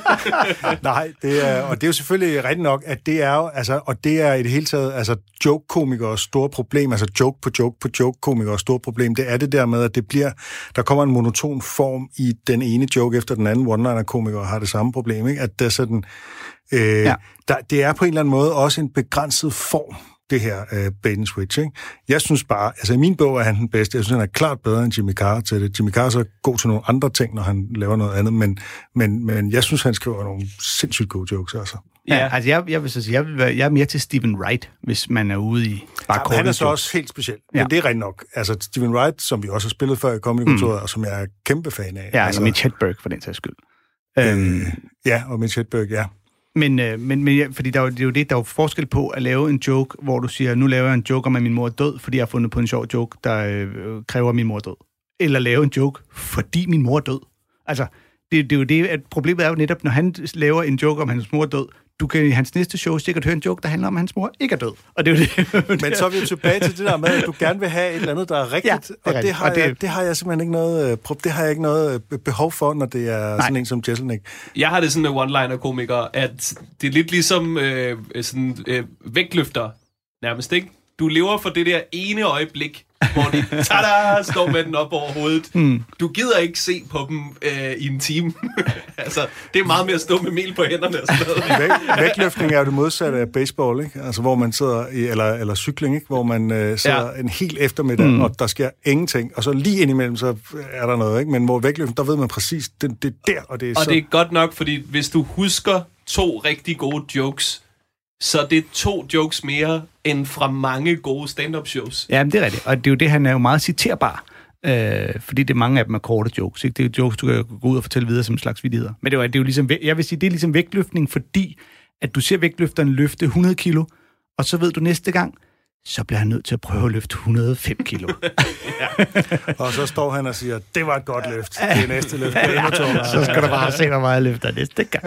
Nej, det er, og det er jo selvfølgelig rigtigt nok, at det er jo, altså, og det er i det hele taget, altså joke-komikers store problem, altså joke på joke på joke-komikers store problem, det er det der med, at det bliver, der kommer en monoton form i den ene joke efter den anden, one-liner-komikere har det samme problem, ikke? At det er sådan, øh, ja. der, det er på en eller anden måde også en begrænset form, det her uh, bait and switch, ikke? Jeg synes bare, altså i min bog er han den bedste. Jeg synes, han er klart bedre end Jimmy Carr til det. Jimmy Carr er så god til nogle andre ting, når han laver noget andet, men, men, men jeg synes, han skriver nogle sindssygt gode jokes, altså. Ja, ja altså jeg, jeg vil så sige, jeg, vil være, jeg er mere til Stephen Wright, hvis man er ude i bare ja, han er så også helt speciel, men ja. Det er rent nok. Altså Stephen Wright, som vi også har spillet før i Comedy-kontoret, mm. og som jeg er kæmpe fan af. Ja, altså Mitch Hedberg for den sags skyld. Øh, um, ja, og Mitch Hedberg, ja. Men, øh, men, men ja, fordi der er, jo, det er jo det, der er jo forskel på at lave en joke, hvor du siger, nu laver jeg en joke om, at min mor er død, fordi jeg har fundet på en sjov joke, der øh, kræver, at min mor er død. Eller lave en joke, fordi min mor er død. Altså, det, det er jo det, at problemet er jo netop, når han laver en joke om, at hans mor er død, du kan i hans næste show sikkert høre en joke, der handler om, at hans mor ikke er død. Og det er jo det. Men så er vi jo tilbage til det der med, at du gerne vil have et eller andet, der er rigtigt. Ja, det er og, rigtigt. Det har og det... Jeg, det har jeg simpelthen ikke noget, det har jeg ikke noget behov for, når det er Nej. Sådan en som Jeselnik. Jeg har det sådan med one-liner-komikere, at det er lidt ligesom øh, sådan, øh, vægtløfter nærmest, ikke? Du lever for det der ene øjeblik, hvor de tada, står med den op over hovedet. Mm. Du gider ikke se på dem øh, i en time. Altså, det er meget mere at stå med mel på hænderne og sådan noget. Væg, vægtløftning er jo det modsatte af baseball, ikke? Altså, hvor man sidder i, eller, eller cykling, ikke? Hvor man øh, sidder ja. en hel eftermiddag, mm. og der sker ingenting. Og så lige indimellem, så er der noget, ikke? Men hvor vægtløftning, der ved man præcis, det, det er der, og det er og så... det er godt nok, fordi hvis du husker to rigtig gode jokes, så det er to jokes mere end fra mange gode stand-up shows. Ja, men det er rigtigt. Og det er jo det, han er jo meget citerbar. Øh, fordi det er mange af dem er korte jokes. Ikke? Det er jo jokes, du kan gå ud og fortælle videre som en slags vittigheder. Men det er jo, det er jo ligesom, jeg vil sige, det er ligesom vægtløftning, fordi at du ser vægtløfteren løfte hundrede kilo, og så ved du næste gang, så bliver han nødt til at prøve at løfte hundrede og fem kilo. Ja. Og så står han og siger, det var et godt løft. Det er næste løft. Ja, så skal du bare se, hvor meget løfter næste gang.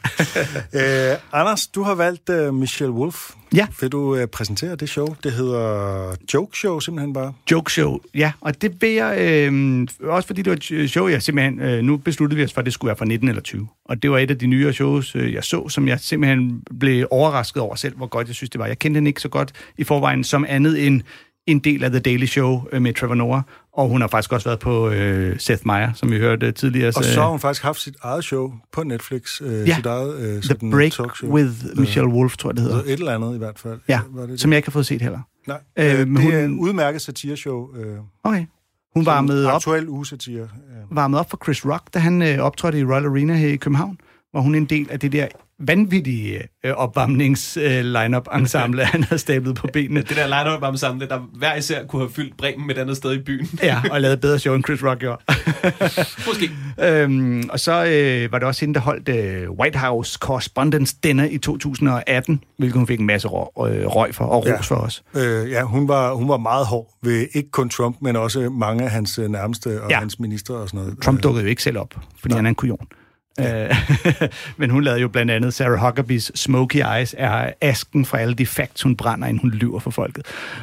øh, Anders, du har valgt uh, Michelle Wolf. Ja. Vil du uh, præsentere det show? Det hedder Joke Show, simpelthen bare. Joke Show, ja. Og det vil jeg, øh, også fordi det var et show, jeg simpelthen, øh, nu besluttede vi os for, at det skulle være fra nitten eller tyve. Og det var et af de nyere shows, øh, jeg så, som jeg simpelthen blev overrasket over selv, hvor godt jeg synes, det var. Jeg kendte hende ikke så godt i forvejen som andet end en del af The Daily Show øh, med Trevor Noah. Og hun har faktisk også været på øh, Seth Meyers, som vi hørte tidligere. Og så har hun faktisk haft sit eget show på Netflix. Øh, ja, sit eget, øh, The Break talkshow. With Michelle Wolf, tror jeg, det hedder. Et eller andet i hvert fald. Ja, var det som jeg ikke har fået set heller. Nej, øh, det hun, er en udmærket satireshow. Øh, okay. Hun varmede op, aktuel ugesatire. Ja. Varmede op for Chris Rock, da han øh, optrådte i Royal Arena her i København, hvor hun er en del af det der vanvittige øh, opvarmnings-line-up-ensemble, øh, han havde stablet på benene. Det der line-up-ensemble, der hver især kunne have fyldt Bremen et andet sted i byen. Ja, og lavet bedre show, end Chris Rock gjorde. Måske. Øhm, og så øh, var det også hende, der holdt øh, White House Correspondence Dinner i to tusind og atten, hvilket hun fik en masse røg, øh, røg for, og ros ja. for os. Øh, ja, hun var, hun var meget hård ved ikke kun Trump, men også mange af hans nærmeste og ja. hans ministre og sådan noget. Trump dukkede jo ikke selv op, fordi Nej. han er en kujon. Ja. Men hun lavede jo blandt andet Sarah Huckabees Smoky Eyes er asken fra alle de facts, hun brænder, inden hun lyver for folket.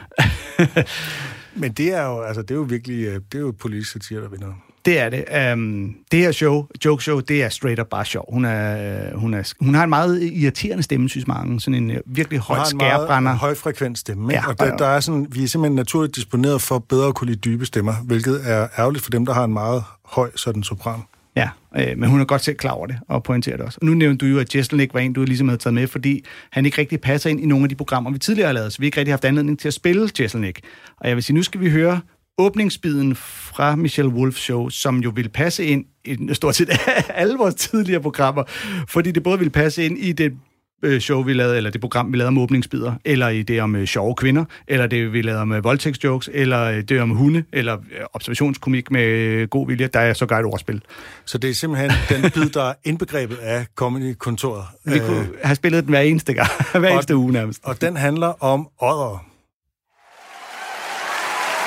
Men det er jo, altså, det er jo virkelig, det er jo politisk satire, der vinder. Det er det. Um, det her show, Joke Show, det er straight up bare sjov. Hun, er, hun, er, hun har en meget irriterende stemme, synes mange. Sådan en virkelig højt skærbrænder. En højfrekvent stemme. Ja, og der, der er sådan, vi er simpelthen naturligt disponeret for bedre at kunne lide dybe stemmer, hvilket er ærgerligt for dem, der har en meget høj sådan sopran. Ja, øh, men hun er godt selv klar over det, og pointerer det også. Og nu nævnte du jo, at Jeselnik var en, du ligesom havde taget med, fordi han ikke rigtig passer ind i nogle af de programmer, vi tidligere har lavet, så vi ikke rigtig haft anledning til at spille Jeselnik. Og jeg vil sige, nu skal vi høre åbningsbiden fra Michelle Wolf's show, som jo vil passe ind i stort set alle vores tidligere programmer, fordi det både vil passe ind i det show, vi lavede, eller det program, vi lavede om åbningsbider, eller i det om sjove kvinder, eller det, vi lavede om voldtægtsjokes, eller det om hunde, eller observationskomik med god vilje, der er så godt et ordspil. Så det er simpelthen den bid, der er indbegrebet af Comedy-kontoret. Vi kunne have spillet den hver eneste gang, hver eneste uge nærmest. Og den handler om oddere.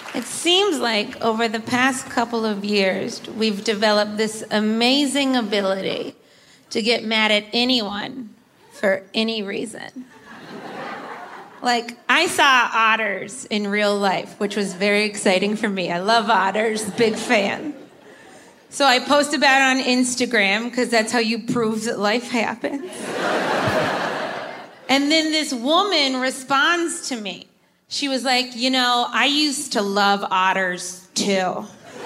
It seems like over the past couple of years, we've developed this amazing ability to get mad at anyone for any reason. Like, I saw otters in real life, which was very exciting for me. I love otters, big fan. So I post about it on Instagram, because that's how you prove that life happens. And then this woman responds to me. She was like, you know, I used to love otters too.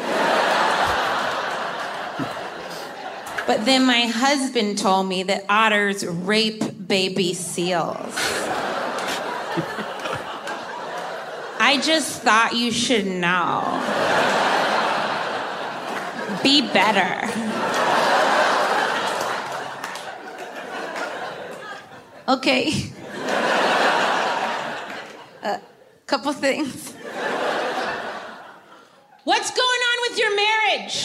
But then my husband told me that otters rape baby seals. I just thought you should know. Be better. Okay. A uh, couple things. What's going on with your marriage?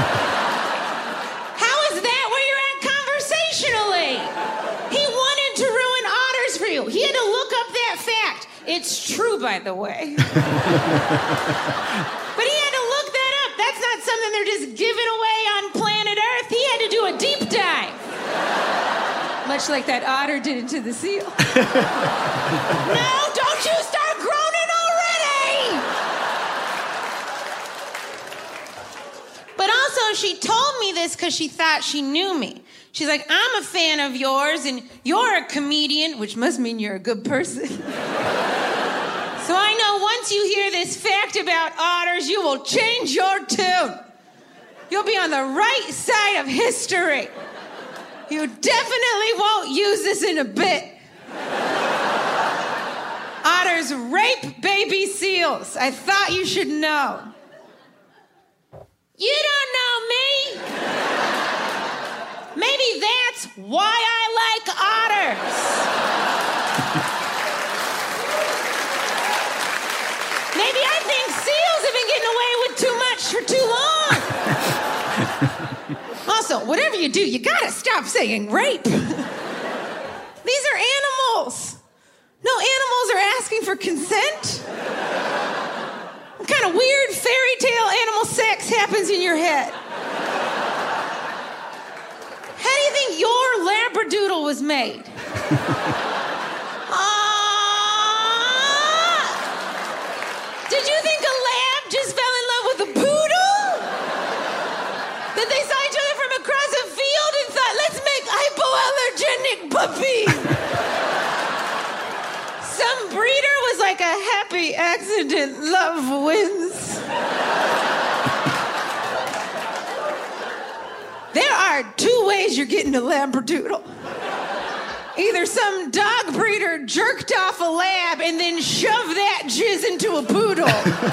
How is that where you're at conversationally? He wanted to ruin otters for you. He had to look up that fact. It's true, by the way. But he had to look that up. That's not something they're just giving away on planet Earth. He had to do a deep dive. Much like that otter did into the seal. No, don't you start groaning already! But also, she told me this because she thought she knew me. She's like, I'm a fan of yours, and you're a comedian, which must mean you're a good person. So I know once you hear this fact about otters, you will change your tune. You'll be on the right side of history. You definitely won't use this in a bit. Otters rape baby seals. I thought you should know. You don't know me. Maybe that's why I like otters. Maybe I think seals have been getting away with too much for too long. Also, whatever you do, you gotta stop saying rape. These are animals. No animals are asking for consent. What kind of weird fairy tale animal sex happens in your head? How do you think your Labradoodle was made? uh, did you think a lab just fell in love with a poodle? That they saw each other from across a field and thought, let's make hypoallergenic puppies? Some breeder was like a happy accident, love wins. There are two ways you're getting a Labradoodle. Either some dog breeder jerked off a lab and then shoved that jizz into a poodle.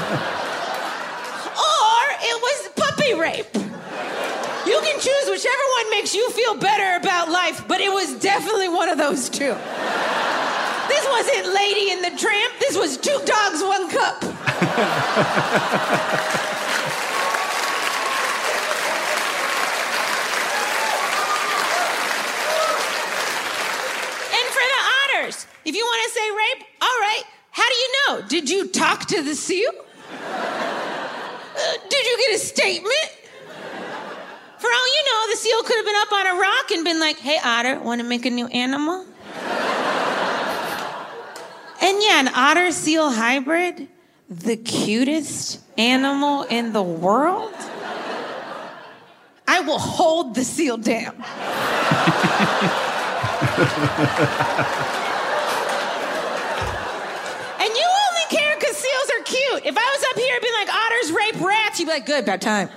Or it was puppy rape. You can choose whichever one makes you feel better about life, but it was definitely one of those two. This wasn't Lady and the Tramp. This was Two Dogs, One Cup. If you want to say rape, all right. How do you know? Did you talk to the seal? Uh, did you get a statement? For all you know, the seal could have been up on a rock and been like, hey, otter, want to make a new animal? And yeah, an otter-seal hybrid, the cutest animal in the world? I will hold the seal down. Cute. If I was up here, I'd be like, otters rape rats. You'd be like, good, about time.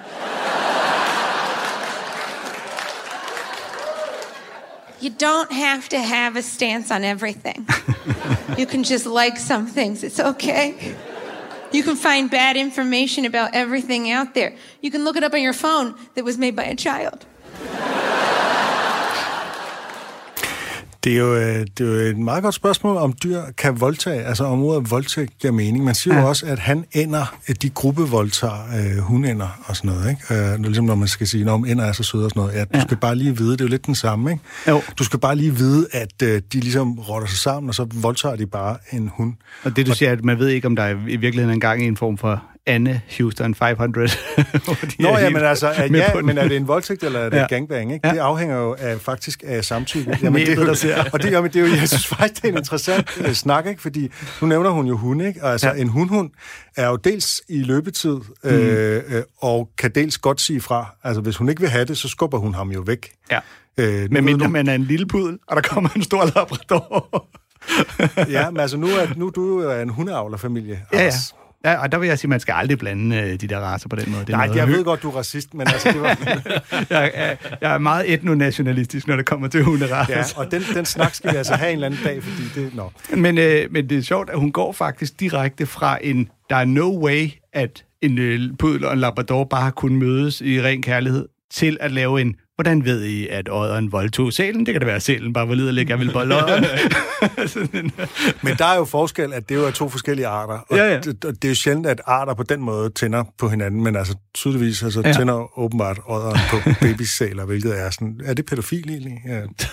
You don't have to have a stance on everything. You can just like some things. It's okay. You can find bad information about everything out there. You can look it up on your phone that was made by a child. Det er, jo, det er jo et meget godt spørgsmål, om dyr kan voldtage, altså om ordet voldtægt giver mening. Man siger ja. jo også, at han ender, at de gruppevoldtager øh, hunænder og sådan noget, ikke? Øh, ligesom når man skal sige, om ender er så søde og sådan noget. Ja, du ja. skal bare lige vide, det er jo lidt den samme, ikke? Jo. Du skal bare lige vide, at øh, de ligesom rotter sig sammen, og så voldtager de bare en hund. Og det du og, siger, at man ved ikke, om der er i virkeligheden engang en form for Anne Houston fem hundrede. Nå ja, men altså, at, ja, men er det en voldtægt, eller er det ja. gangbang, ikke? Ja. Det afhænger jo af, faktisk af samtykke. Jamen, det er jo, der og det, jamen, det er jo, jeg synes faktisk, det er en interessant uh, snak, ikke? Fordi nu nævner hun jo hunde, ikke? Og altså, ja. en hundhund er jo dels i løbetid, øh, mm. øh, og kan dels godt sige fra. Altså, hvis hun ikke vil have det, så skubber hun ham jo væk. Ja. Øh, men mindre man er en lille pudel, og der kommer en stor labrador. Ja, men altså, nu er, nu, du er jo en hundeavlerfamilie. Ja, ja. Ja, og der vil jeg sige, at man skal aldrig blande øh, de der racer på den måde. Det Nej, jeg ved godt, du er racist, men altså, det var... jeg, er, jeg er meget etnonationalistisk, når det kommer til hunderacer. Ja, og den, den snak skal vi altså have en eller anden dag, fordi det... No. Men, øh, men det er sjovt, at hun går faktisk direkte fra en... Der er no way, at en øh, pudel og en labrador bare har kunnet mødes i ren kærlighed, til at lave en... Hvordan ved I, at odderen voldtog sælen? Det kan da være, at sælen bare var liderlig, jeg vil bolde odderen. Men der er jo forskel, at det jo er to forskellige arter. Og ja, ja. Det, det er jo sjældent, at arter på den måde tænder på hinanden, men altså tydeligvis altså, ja. tænder åbenbart odderen på babysæler, hvilket er sådan... Er det pædofil egentlig? Ja. det,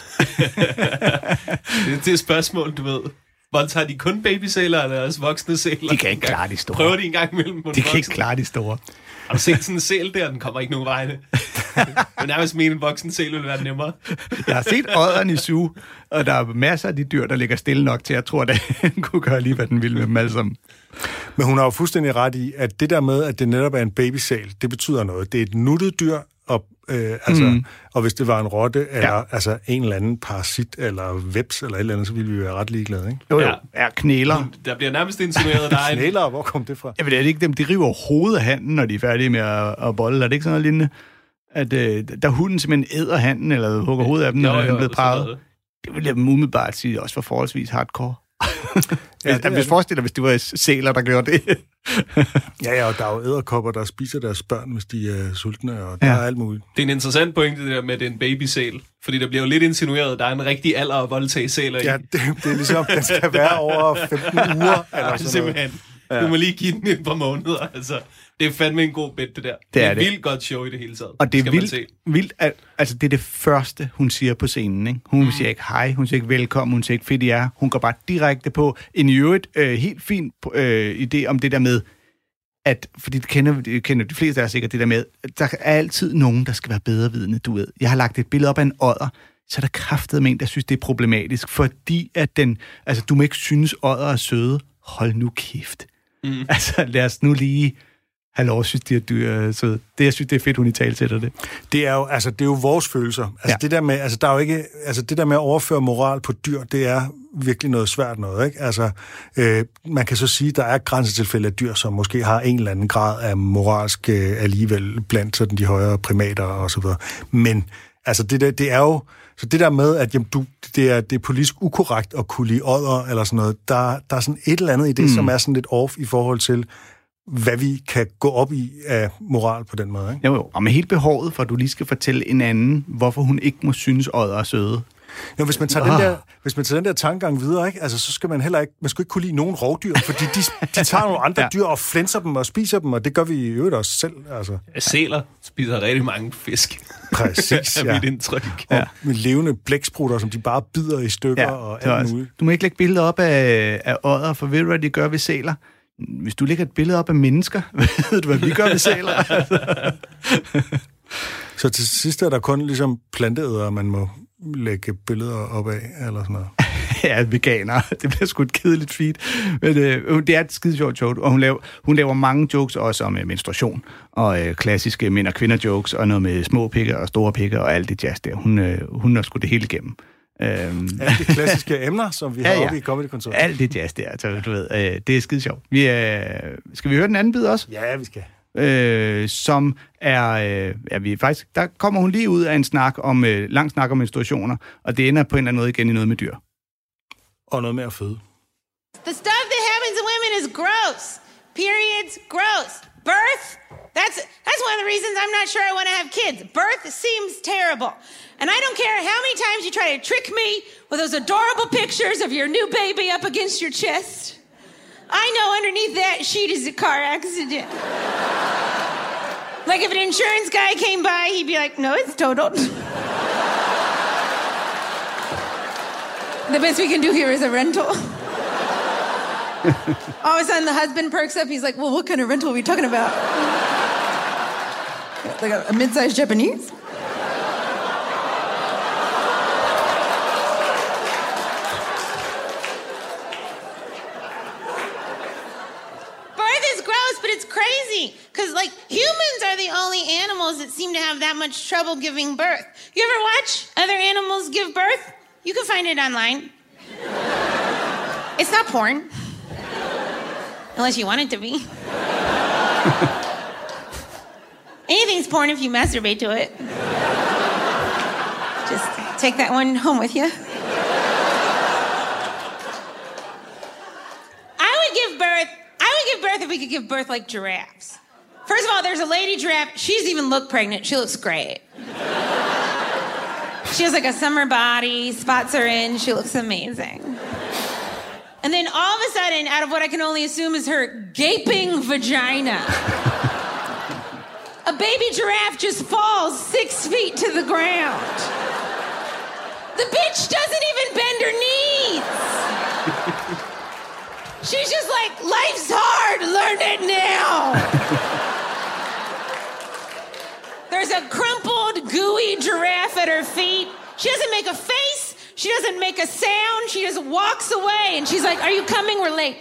det er et spørgsmål, du ved. Voldtager de kun babysæler, eller også voksne sæler? De kan ikke klare de store. Prøver de en gang imellem på De kan ikke klare de store. Har du set sådan en sæl der? Den kommer ikke nogen vegne. Men nærmest mene, en voksen sæl ville være nemmere. Jeg har set odderen i zoo, og der er masser af de dyr, der ligger stille nok til, at jeg tror, at den kunne gøre lige, hvad den ville med dem alle sammen. Men hun har jo fuldstændig ret i, at det der med, at det netop er en babysæl, det betyder noget. Det er et nuttet dyr, og, øh, altså, mm. og hvis det var en rotte, eller ja. altså, en eller anden parasit, eller veps, eller et eller andet, så ville vi være ret ligeglade, ikke? Jo, jo. Ja, ja knæler. Der bliver nærmest insinueret, der er en... Knæler, hvor kom det fra? Jeg ved det ikke dem, de river hovedet af handen, når de er færdige med at, at bolle. Er det ikke sådan noget lignende? At øh, der hunden simpelthen æder handen, eller hugger hovedet af dem, når den er blevet parret. Det vil jeg umiddelbart sige også for forholdsvis hardcore. Ja, jeg vil forestille dig, hvis det var sæler, der gjorde det. ja, ja, og der er jo edderkopper, der spiser deres børn, hvis de er sultne, og der ja. er alt muligt. Det er en interessant pointe, det der med, at det er en babysæl. Fordi der bliver jo lidt insinueret, at der er en rigtig alder at voldtage sæler i. Ja, det, det er ligesom, den skal være over femten uger, eller sådan simpelthen. Ja. Du må lige give den et par måneder, altså. Det er fandme en god bed, det der. Det, det er et vildt godt show i det hele taget. Og det er vildt, vildt at, altså det er det første, hun siger på scenen, ikke? Hun mm. siger ikke hej, hun siger ikke velkommen, hun siger ikke fedt, I er. Hun går bare direkte på en i øvrigt øh, helt fin øh, idé om det der med, at, fordi det kender, det kender de fleste af jer sikkert, det der med, at der er altid nogen, der skal være bedrevidende, du ved. Jeg har lagt et billede op af en odder, så er der kraftet med en, der synes, det er problematisk, fordi at den, altså du må ikke synes, odder er søde. Hold nu kæft. Mm. Altså lad os nu lige... Hallo, synes de, at du er sød. Det, jeg synes, det er fedt, hun i tale sætter det. Det er jo, altså, det er jo vores følelser. Altså, ja. det der med, altså, der er jo ikke, altså, det der med at overføre moral på dyr, det er virkelig noget svært noget, ikke? Altså, øh, man kan så sige, at der er grænsetilfælde af dyr, som måske har en eller anden grad af moralsk øh, alligevel blandt sådan de højere primater og så videre. Men, altså, det der, det er jo, så det der med, at jamen, du, det, er, det er politisk ukorrekt at kunne lide odder eller sådan noget, der, der er sådan et eller andet i det, mm. som er sådan lidt off i forhold til, hvad vi kan gå op i af moral på den måde, ikke? Jo, jo. Og med helt behovet for, at du lige skal fortælle en anden, hvorfor hun ikke må synes, odder er søde. Jo, hvis man tager, ah. den der, hvis man tager den der tankegang videre, ikke? Altså, så skal man heller ikke, man skal ikke kunne lide nogen rovdyr, fordi de, de tager nogle andre ja. dyr og flænser dem og spiser dem, og det gør vi i øvrigt også selv. Altså. Sæler spiser rigtig mange fisk. Præcis, ja. Er mit indtryk. Ja. Med levende blæksprutter, som de bare bider i stykker ja, og alt muligt. Du må ikke lægge billeder op af, af odder, for ved du, hvad de gør ved sæler? Hvis du lægger et billede op af mennesker, ved du, hvad vi gør ved sæler? Så til sidst er der kun ligesom planteædere, man må lægge billeder op af, eller sådan noget. Ja, veganer. Det bliver sgu et kedeligt feed. Men øh, det er et skide sjovt show, og hun laver, hun laver mange jokes også om øh, menstruation, og øh, klassiske mænd- og kvinder-jokes, og noget med små pikker og store pikker, og alt det jazz der. Hun, øh, hun har sgu det hele igennem. Øhm. Alle de klassiske emner, som vi har ja, ja. oppe i Comedy-kontoret. Alt det jazz der, altså, du ved, øh, det er skide sjovt. Vi, øh, skal vi høre den anden bid også? Ja, vi skal. Øh, som er, øh, ja, vi faktisk, der kommer hun lige ud af en snak om, øh, lang snak om menstruationer, og det ender på en eller anden måde igen i noget med dyr. Og noget med at føde. The stuff that happens to women is gross. Periods, gross. Birth, that's that's Here's one of the reasons I'm not sure I want to have kids. Birth seems terrible. And I don't care how many times you try to trick me with those adorable pictures of your new baby up against your chest. I know underneath that sheet is a car accident. Like if an insurance guy came by, he'd be like, no, it's totaled. The best we can do here is a rental. All of a sudden, the husband perks up. He's like, well, what kind of rental are we talking about? Like a, a mid-sized Japanese? Birth is gross, but it's crazy. Because, like, humans are the only animals that seem to have that much trouble giving birth. You ever watch other animals give birth? You can find it online. It's not porn. Unless you want it to be. Anything's porn if you masturbate to it. Just take that one home with you. I would give birth, I would give birth if we could give birth like giraffes. First of all, there's a lady giraffe. She doesn't even look pregnant. She looks great. She has like a summer body, spots are in, she looks amazing. And then all of a sudden, out of what I can only assume is her gaping vagina, a baby giraffe just falls six feet to the ground. The bitch doesn't even bend her knees. She's just like, life's hard, learn it now. There's a crumpled, gooey giraffe at her feet. She doesn't make a face. She doesn't make a sound. She just walks away. And she's like, are you coming? We're late.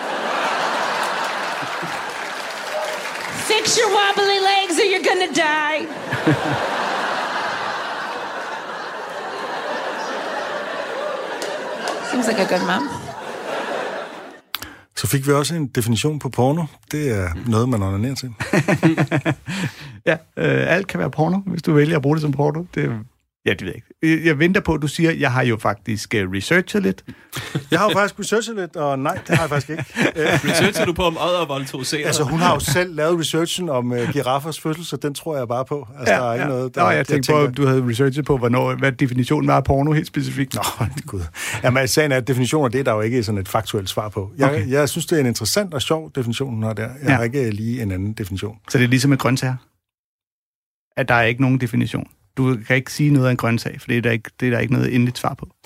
Fix your wobbly legs or you're gonna die. Seems like a good mom. Så fik vi også en definition på porno. Det er noget, man onanerer til. Ja, øh, alt kan være porno, hvis du vælger at bruge det som porno. Det Ja, det ved jeg ikke. Jeg venter på, at du siger, at jeg har jo faktisk researchet lidt. Jeg har jo faktisk researchet lidt, og nej, det har jeg faktisk ikke. Researcher du på, om Odder voldtog senere? Altså, hun har jo selv lavet researchen om uh, giraffers fødsel, så den tror jeg bare på. Altså, ja, der er ikke ja. noget... Der, Nå, jeg tænkte på, at du havde researchet på, hvornår, hvad definitionen var af porno helt specifikt. Nå, gud. Jamen, sagen er, at definitioner, det er der jo ikke sådan et faktuelt svar på. Jeg, okay. jeg synes, det er en interessant og sjov definition, hun har der. Jeg ja. har ikke lige en anden definition. Så det er ligesom med grøntsager? At der er ikke nogen definition? Du kan ikke sige noget af en grøntsag, for det er der ikke, det er der ikke noget endeligt svar på.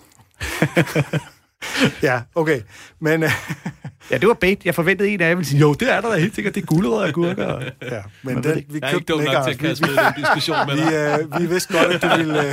Ja, okay. Men... ja, det var bait. Jeg forventede en af jer ville sige, jo, det er der da helt sikkert. Det er gulerødder og gurker. Ja, men den, vi jeg er ikke dum nok til at kaste med den diskussion med dig. Vi, øh, vi vidste godt, at du ville...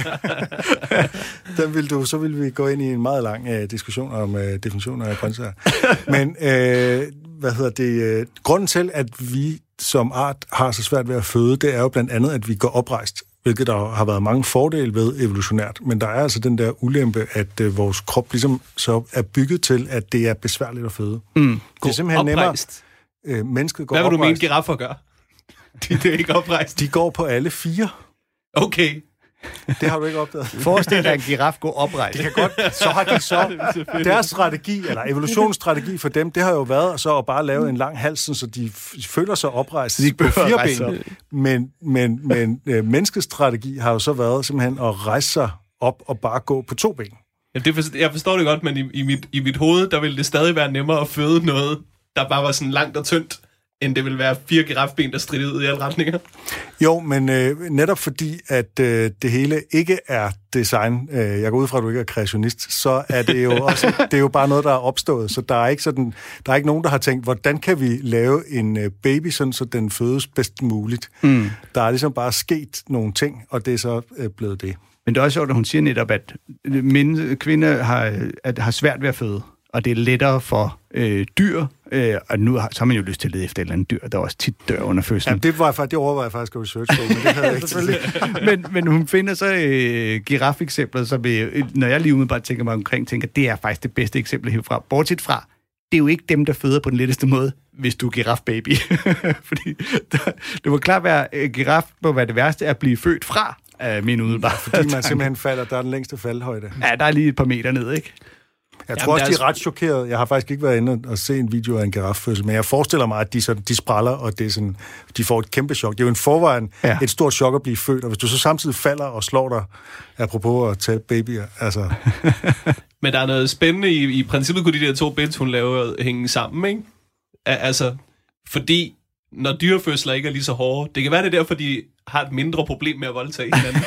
Øh, den ville du, så ville vi gå ind i en meget lang øh, diskussion om øh, definitioner af grøntsager. Men, øh, hvad hedder det... Øh, grunden til, at vi som art har så svært ved at føde, det er jo blandt andet, at vi går oprejst, hvilket der har været mange fordele ved evolutionært. Men der er altså den der ulempe, at øh, vores krop ligesom så er bygget til, at det er besværligt at føde. Mm. Det er simpelthen nemmere. Øh, mennesket går Hvad vil oprejst. du mene, giraffer gør? De, de er ikke oprejst. De går på alle fire. Okay. Det har du ikke opdaget. Forestil dig, at en giraf går oprejst. Det kan godt. Så har de så... Deres strategi, eller evolutionsstrategi for dem, det har jo været så at bare lave en lang hals, så de føler sig oprejst de på fire ben. Men, men, men øh, menneskets strategi har jo så været simpelthen at rejse sig op og bare gå på to ben. Ja, det for, jeg forstår det godt, men i, i, mit, i mit hoved, der ville det stadig være nemmere at føde noget, der bare var sådan langt og tyndt, end det vil være fire girafben, der strider ud i alle retninger. Jo, men øh, netop fordi, at øh, det hele ikke er design, øh, jeg går ud fra, at du ikke er kreationist, så er det jo også, det er jo bare noget, der er opstået. Så der er ikke sådan, der er ikke nogen, der har tænkt, hvordan kan vi lave en øh, baby, sådan, så den fødes bedst muligt. Mm. Der er ligesom bare sket nogle ting, og det er så øh, blevet det. Men det er også sjovt, at hun siger netop, at mænd, kvinder har, at, har svært ved at føde. Og det er lettere for øh, dyr, øh, og nu har, så har man jo lyst til at lede efter et eller andet dyr, der også tit dør under fødslen. Jamen, det, var, det overvejede jeg faktisk at research på, men det havde jeg ikke selvfølgelig. men, men hun finder så øh, giraffe-eksempler, som øh, når jeg lige umiddelbart tænker mig omkring, tænker, det er faktisk det bedste eksempel herfra. Bortset fra, det er jo ikke dem, der føder på den letteste måde, hvis du er giraffe-baby. Fordi der, det må klart være, at giraffe må være det værste at blive født fra, øh, min umiddelbart. Fordi man simpelthen falder, der er den længste faldhøjde. Ja, der er lige et par meter ned, ikke? Jeg tror Jamen, også, de deres- er ret chokerede. Jeg har faktisk ikke været inde og se en video af en giraffødsel, men jeg forestiller mig, at de, sådan, de spræller, og det er sådan, de får et kæmpe chok. Det er jo en forvejen Ja. et stort chok at blive født, og hvis du så samtidig falder og slår dig, apropos at tage babyer, altså... Men der er noget spændende i, i princippet kunne de der to bits, hun laver, hænge sammen, ikke? Al- altså, fordi når dyrefødsler ikke er lige så hårde, det kan være det er derfor, de har et mindre problem med at voldtage hinanden.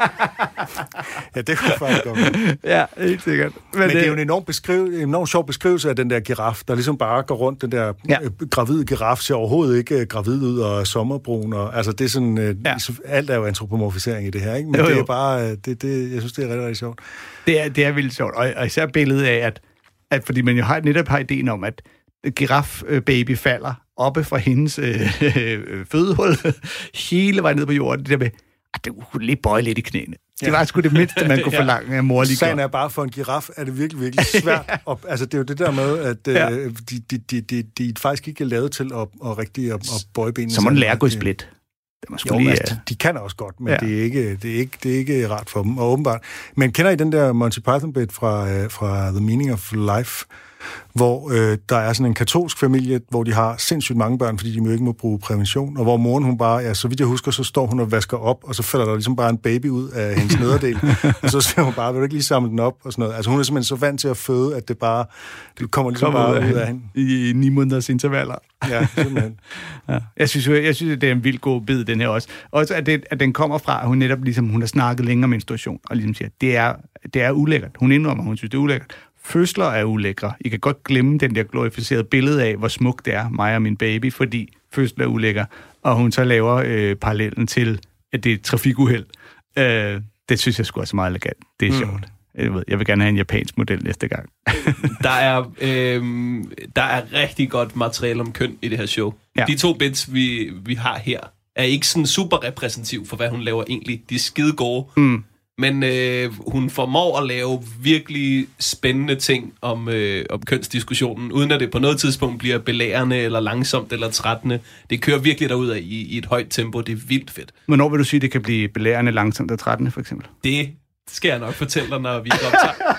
Ja, det kunne faktisk godt være. Ja, helt sikkert. Men, Men det er jo en enormt, beskriv, en enormt sjov beskrivelse af den der giraf, der ligesom bare går rundt. Den der Ja. ja. gravide giraf ser overhovedet ikke gravid ud og er sommerbrun. Og, altså, det er sådan, Ja. ja. alt er jo antropomorfisering i det her, ikke? Men Jo, det jo. er bare, det, det, jeg synes, det er rigtig, rigtig sjovt. Det er, det er vildt sjovt, og, og især billedet af, at, at fordi man jo har, netop har ideen om, at giraf-baby falder oppe fra hendes øh, øh, fødehul hele vejen ned på jorden. Det der med, at det kunne lige bøje lidt i knæene. Det Ja. var sgu det mindste, man kunne Ja. forlange af mor lige Sagen godt. er bare, for en giraf er det virkelig, virkelig svært. ja. og, altså, det er jo det der med, at Ja. øh, de, de, de, de, de faktisk ikke er lavet til at, at rigtig at, at bøje benene. Så må den sammen. lære at gå i Det- split. Det må sgu Jo, lige, altså, øh, de, de kan også godt, men Ja. ja. det, er ikke, det, er ikke, det er ikke rart for dem, og åbenbart. Men kender I den der Monty Python-bit fra, øh, fra The Meaning of Life, hvor øh, der er sådan en katolsk familie, hvor de har sindssygt mange børn, fordi de jo ikke må bruge prævention, og hvor moren, hun bare, ja, så vidt jeg husker, så står hun og vasker op, og så falder der ligesom bare en baby ud af hendes nederdel, og så siger hun bare, vil du ikke lige samle den op, og sådan noget. Altså hun er simpelthen så vant til at føde, at det bare, det kommer ligesom kommer bare ud ud af af hende. i ni måneders intervaller. Ja, simpelthen. Ja. Jeg synes jo, jeg synes, at det er en vildt god bid, den her også. Også at, det, at den kommer fra, at hun netop ligesom, hun har snakket længere om menstruation, og ligesom siger, det er, det er ulækkert. Hun indrømmer, hun synes, det er ulækkert. Fødsler er ulækre. I kan godt glemme den der glorificerede billede af, hvor smukt det er, mig og min baby, fordi fødsler er ulækker. Og hun så laver øh, parallellen til, at det er et trafikuheld. Øh, det synes jeg sgu også er meget elegant. Det er mm. sjovt. Jeg, ved, jeg vil gerne have en japansk model næste gang. Der er, øh, der er rigtig godt materiale om køn i det her show. Ja. Ja. De to bits, vi, vi har her, er ikke sådan super repræsentativ for, hvad hun laver egentlig. De er skide gode. Mm. Men øh, hun formår at lave virkelig spændende ting om, øh, om kønsdiskussionen, uden at det på noget tidspunkt bliver belærende, eller langsomt, eller trættende. Det kører virkelig derud af i, i et højt tempo. Det er vildt fedt. Hvornår vil du sige, det kan blive belærende, langsomt og trættende, for eksempel? Det skal jeg nok fortælle dig, når vi er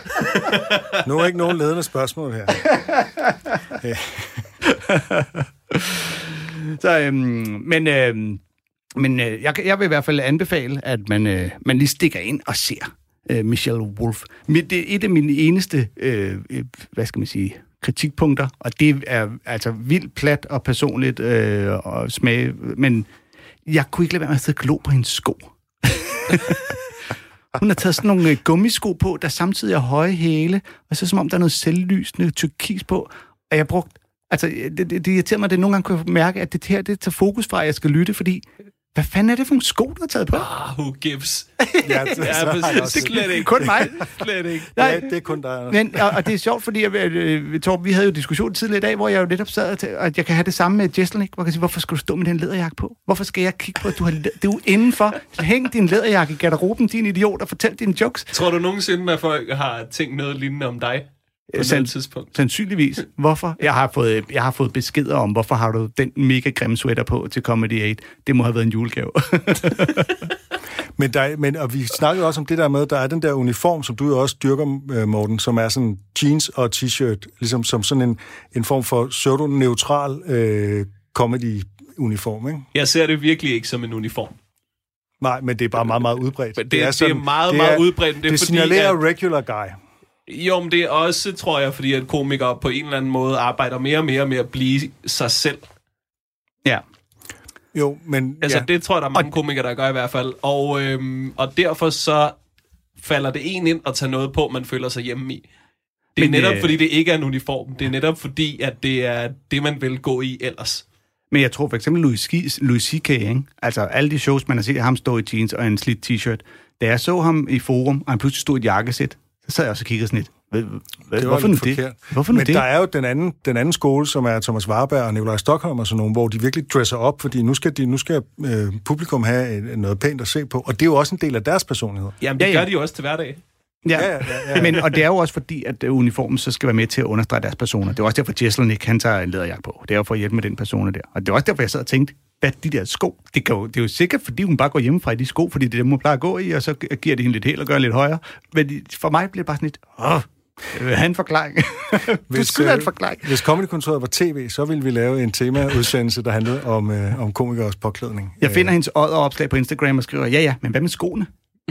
optaget. Nu er ikke nogen ledende spørgsmål her. Ja. Så, øhm, men øhm, men øh, jeg, jeg vil i hvert fald anbefale, at man, øh, man lige stikker ind og ser øh, Michelle Wolf. Det er et af mine eneste, øh, hvad skal man sige, kritikpunkter, og det er altså vildt plat og personligt øh, og smag, men jeg kunne ikke lade være med at sidde og glo på hendes sko. Hun har taget sådan nogle øh, gummisko på, der samtidig er høje hæle, og så som om der er noget selvlysende turkis på, og jeg brugt, altså det, det, det irriterer mig, at det nogle gange kunne mærke, at det her, det tager fokus fra, at jeg skal lytte, fordi hvad fanden er det for nogle sko, du har taget på? Ah, who gives? Ja, det, Ja, så har jeg præcis. også- Slet ikke. Kun mig. Slet ikke. Nej. Ja, det er kun dig, Anders. Men, og, og det er sjovt, fordi jeg, øh, Torben, vi havde jo diskussion tidligere i dag, hvor jeg jo netop sad til, at jeg kan have det samme med Jesselnik, hvor jeg kan sige, hvorfor skal du stå med den læderjakke på? Hvorfor skal jeg kigge på, at du har det er jo indenfor? Hæng din læderjakke i garderoben, din idiot, og fortæl dine jokes. Tror du nogensinde, at folk har tænkt noget lignende om dig? På Sand- et tidspunkt. Sandsynligvis. Hvorfor? Jeg har, fået, jeg har fået beskeder om, hvorfor har du den mega grimme sweater på til Comedy otte. Det må have været en julegave. Men, der, men og vi snakkede også om det der med, der er den der uniform, som du jo også dyrker, øh, Morten, som er sådan jeans og t-shirt, ligesom som sådan en, en form for pseudo-neutral øh, comedy-uniform, ikke? Jeg ser det virkelig ikke som en uniform. Nej, men det er bare meget, meget udbredt. Men det er- det er meget, det meget udbredt. Det Det, er det fordi, signalerer at- regular guy. Jo, men det er også, tror jeg, fordi at komikere på en eller anden måde arbejder mere og mere med at blive sig selv. Ja. Jo, men... Altså, ja. det tror jeg, der er mange komikere, der gør i hvert fald. Og, øhm, og derfor så falder det en ind at tage noget på, man føler sig hjemme i. Det er Men, netop, øh, fordi det ikke er en uniform. Det er netop, fordi at det er det, man vil gå i ellers. Men jeg tror for eksempel Louis, Louis C K, ikke? Altså alle de shows, man har set ham stå i jeans og en slidt t-shirt. Da jeg så ham i Forum, og han pludselig stod i et jakkesæt, så sad jeg også og kiggede sådan lidt. Hvad, hvad, Det var hvorfor nu lidt det? forkert. Hvorfor nu Men det? der er jo den anden, den anden skole, som er Thomas Warberg og Nikolaj Stockholm og sådan nogle, hvor de virkelig dresser op, fordi nu skal, de, nu skal øh, publikum have et, noget pænt at se på, og det er jo også en del af deres personlighed. Jamen, det Ja, ja, ja. gør de jo også til hverdag. Ja, Ja, ja, ja, ja. Men, og det er jo også fordi, at uh, uniformen så skal være med til at understrege deres personer. Det er også derfor, at Jesselnik, han tager en læderjakke på. Det er jo for at hjælpe med den persona der. Og det er også derfor, jeg sad og tænkte, hvad de der sko? Det, kan jo, det er jo sikkert, fordi hun bare går hjemmefra i de sko, fordi det er dem, hun plejer at gå i, og så giver det hende lidt helt og gør lidt højere. Men for mig bliver det bare sådan lidt, åh, Jeg vil have en forklaring. Du skulle have en forklaring. Hvis Comedy-kontoret var tv, så ville vi lave en temaudsendelse, der handlede om, øh, om komikers påklædning. Jeg finder hendes odderopslag på Instagram og skriver, ja ja, men hvad med skoene?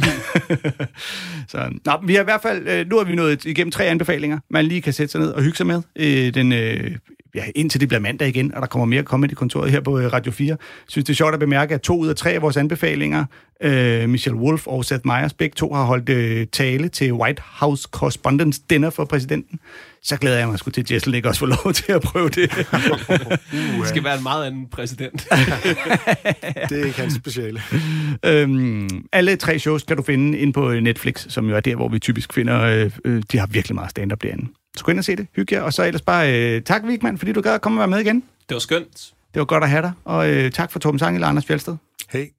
Så, nå, vi har i hvert fald, nu har vi nået igennem tre anbefalinger, man lige kan sætte sig ned og hygge sig med. Øh, den, øh, ja, indtil det bliver mandag igen, og der kommer mere Comedy-kontoret her på Radio fire. Jeg synes, det er sjovt at bemærke, at to ud af tre af vores anbefalinger, øh, Michelle Wolf og Seth Meyers, begge to har holdt øh, tale til White House Correspondents' Dinner for præsidenten. Så glæder jeg mig sgu til, at Jessel ikke også får lov til at prøve det. Det skal være en meget anden præsident. Det er ikke hans speciale. øhm, alle tre shows kan du finde inde på Netflix, som jo er der, hvor vi typisk finder, øh, øh, de har virkelig meget stand-up derinde. Så gå ind og se det, hygge jer, og så ellers bare øh, tak, Vigman, fordi du gad at komme og være med igen. Det var skønt. Det var godt at have dig, og øh, tak for Torben Sangel og Anders Fjeldsted. Hej.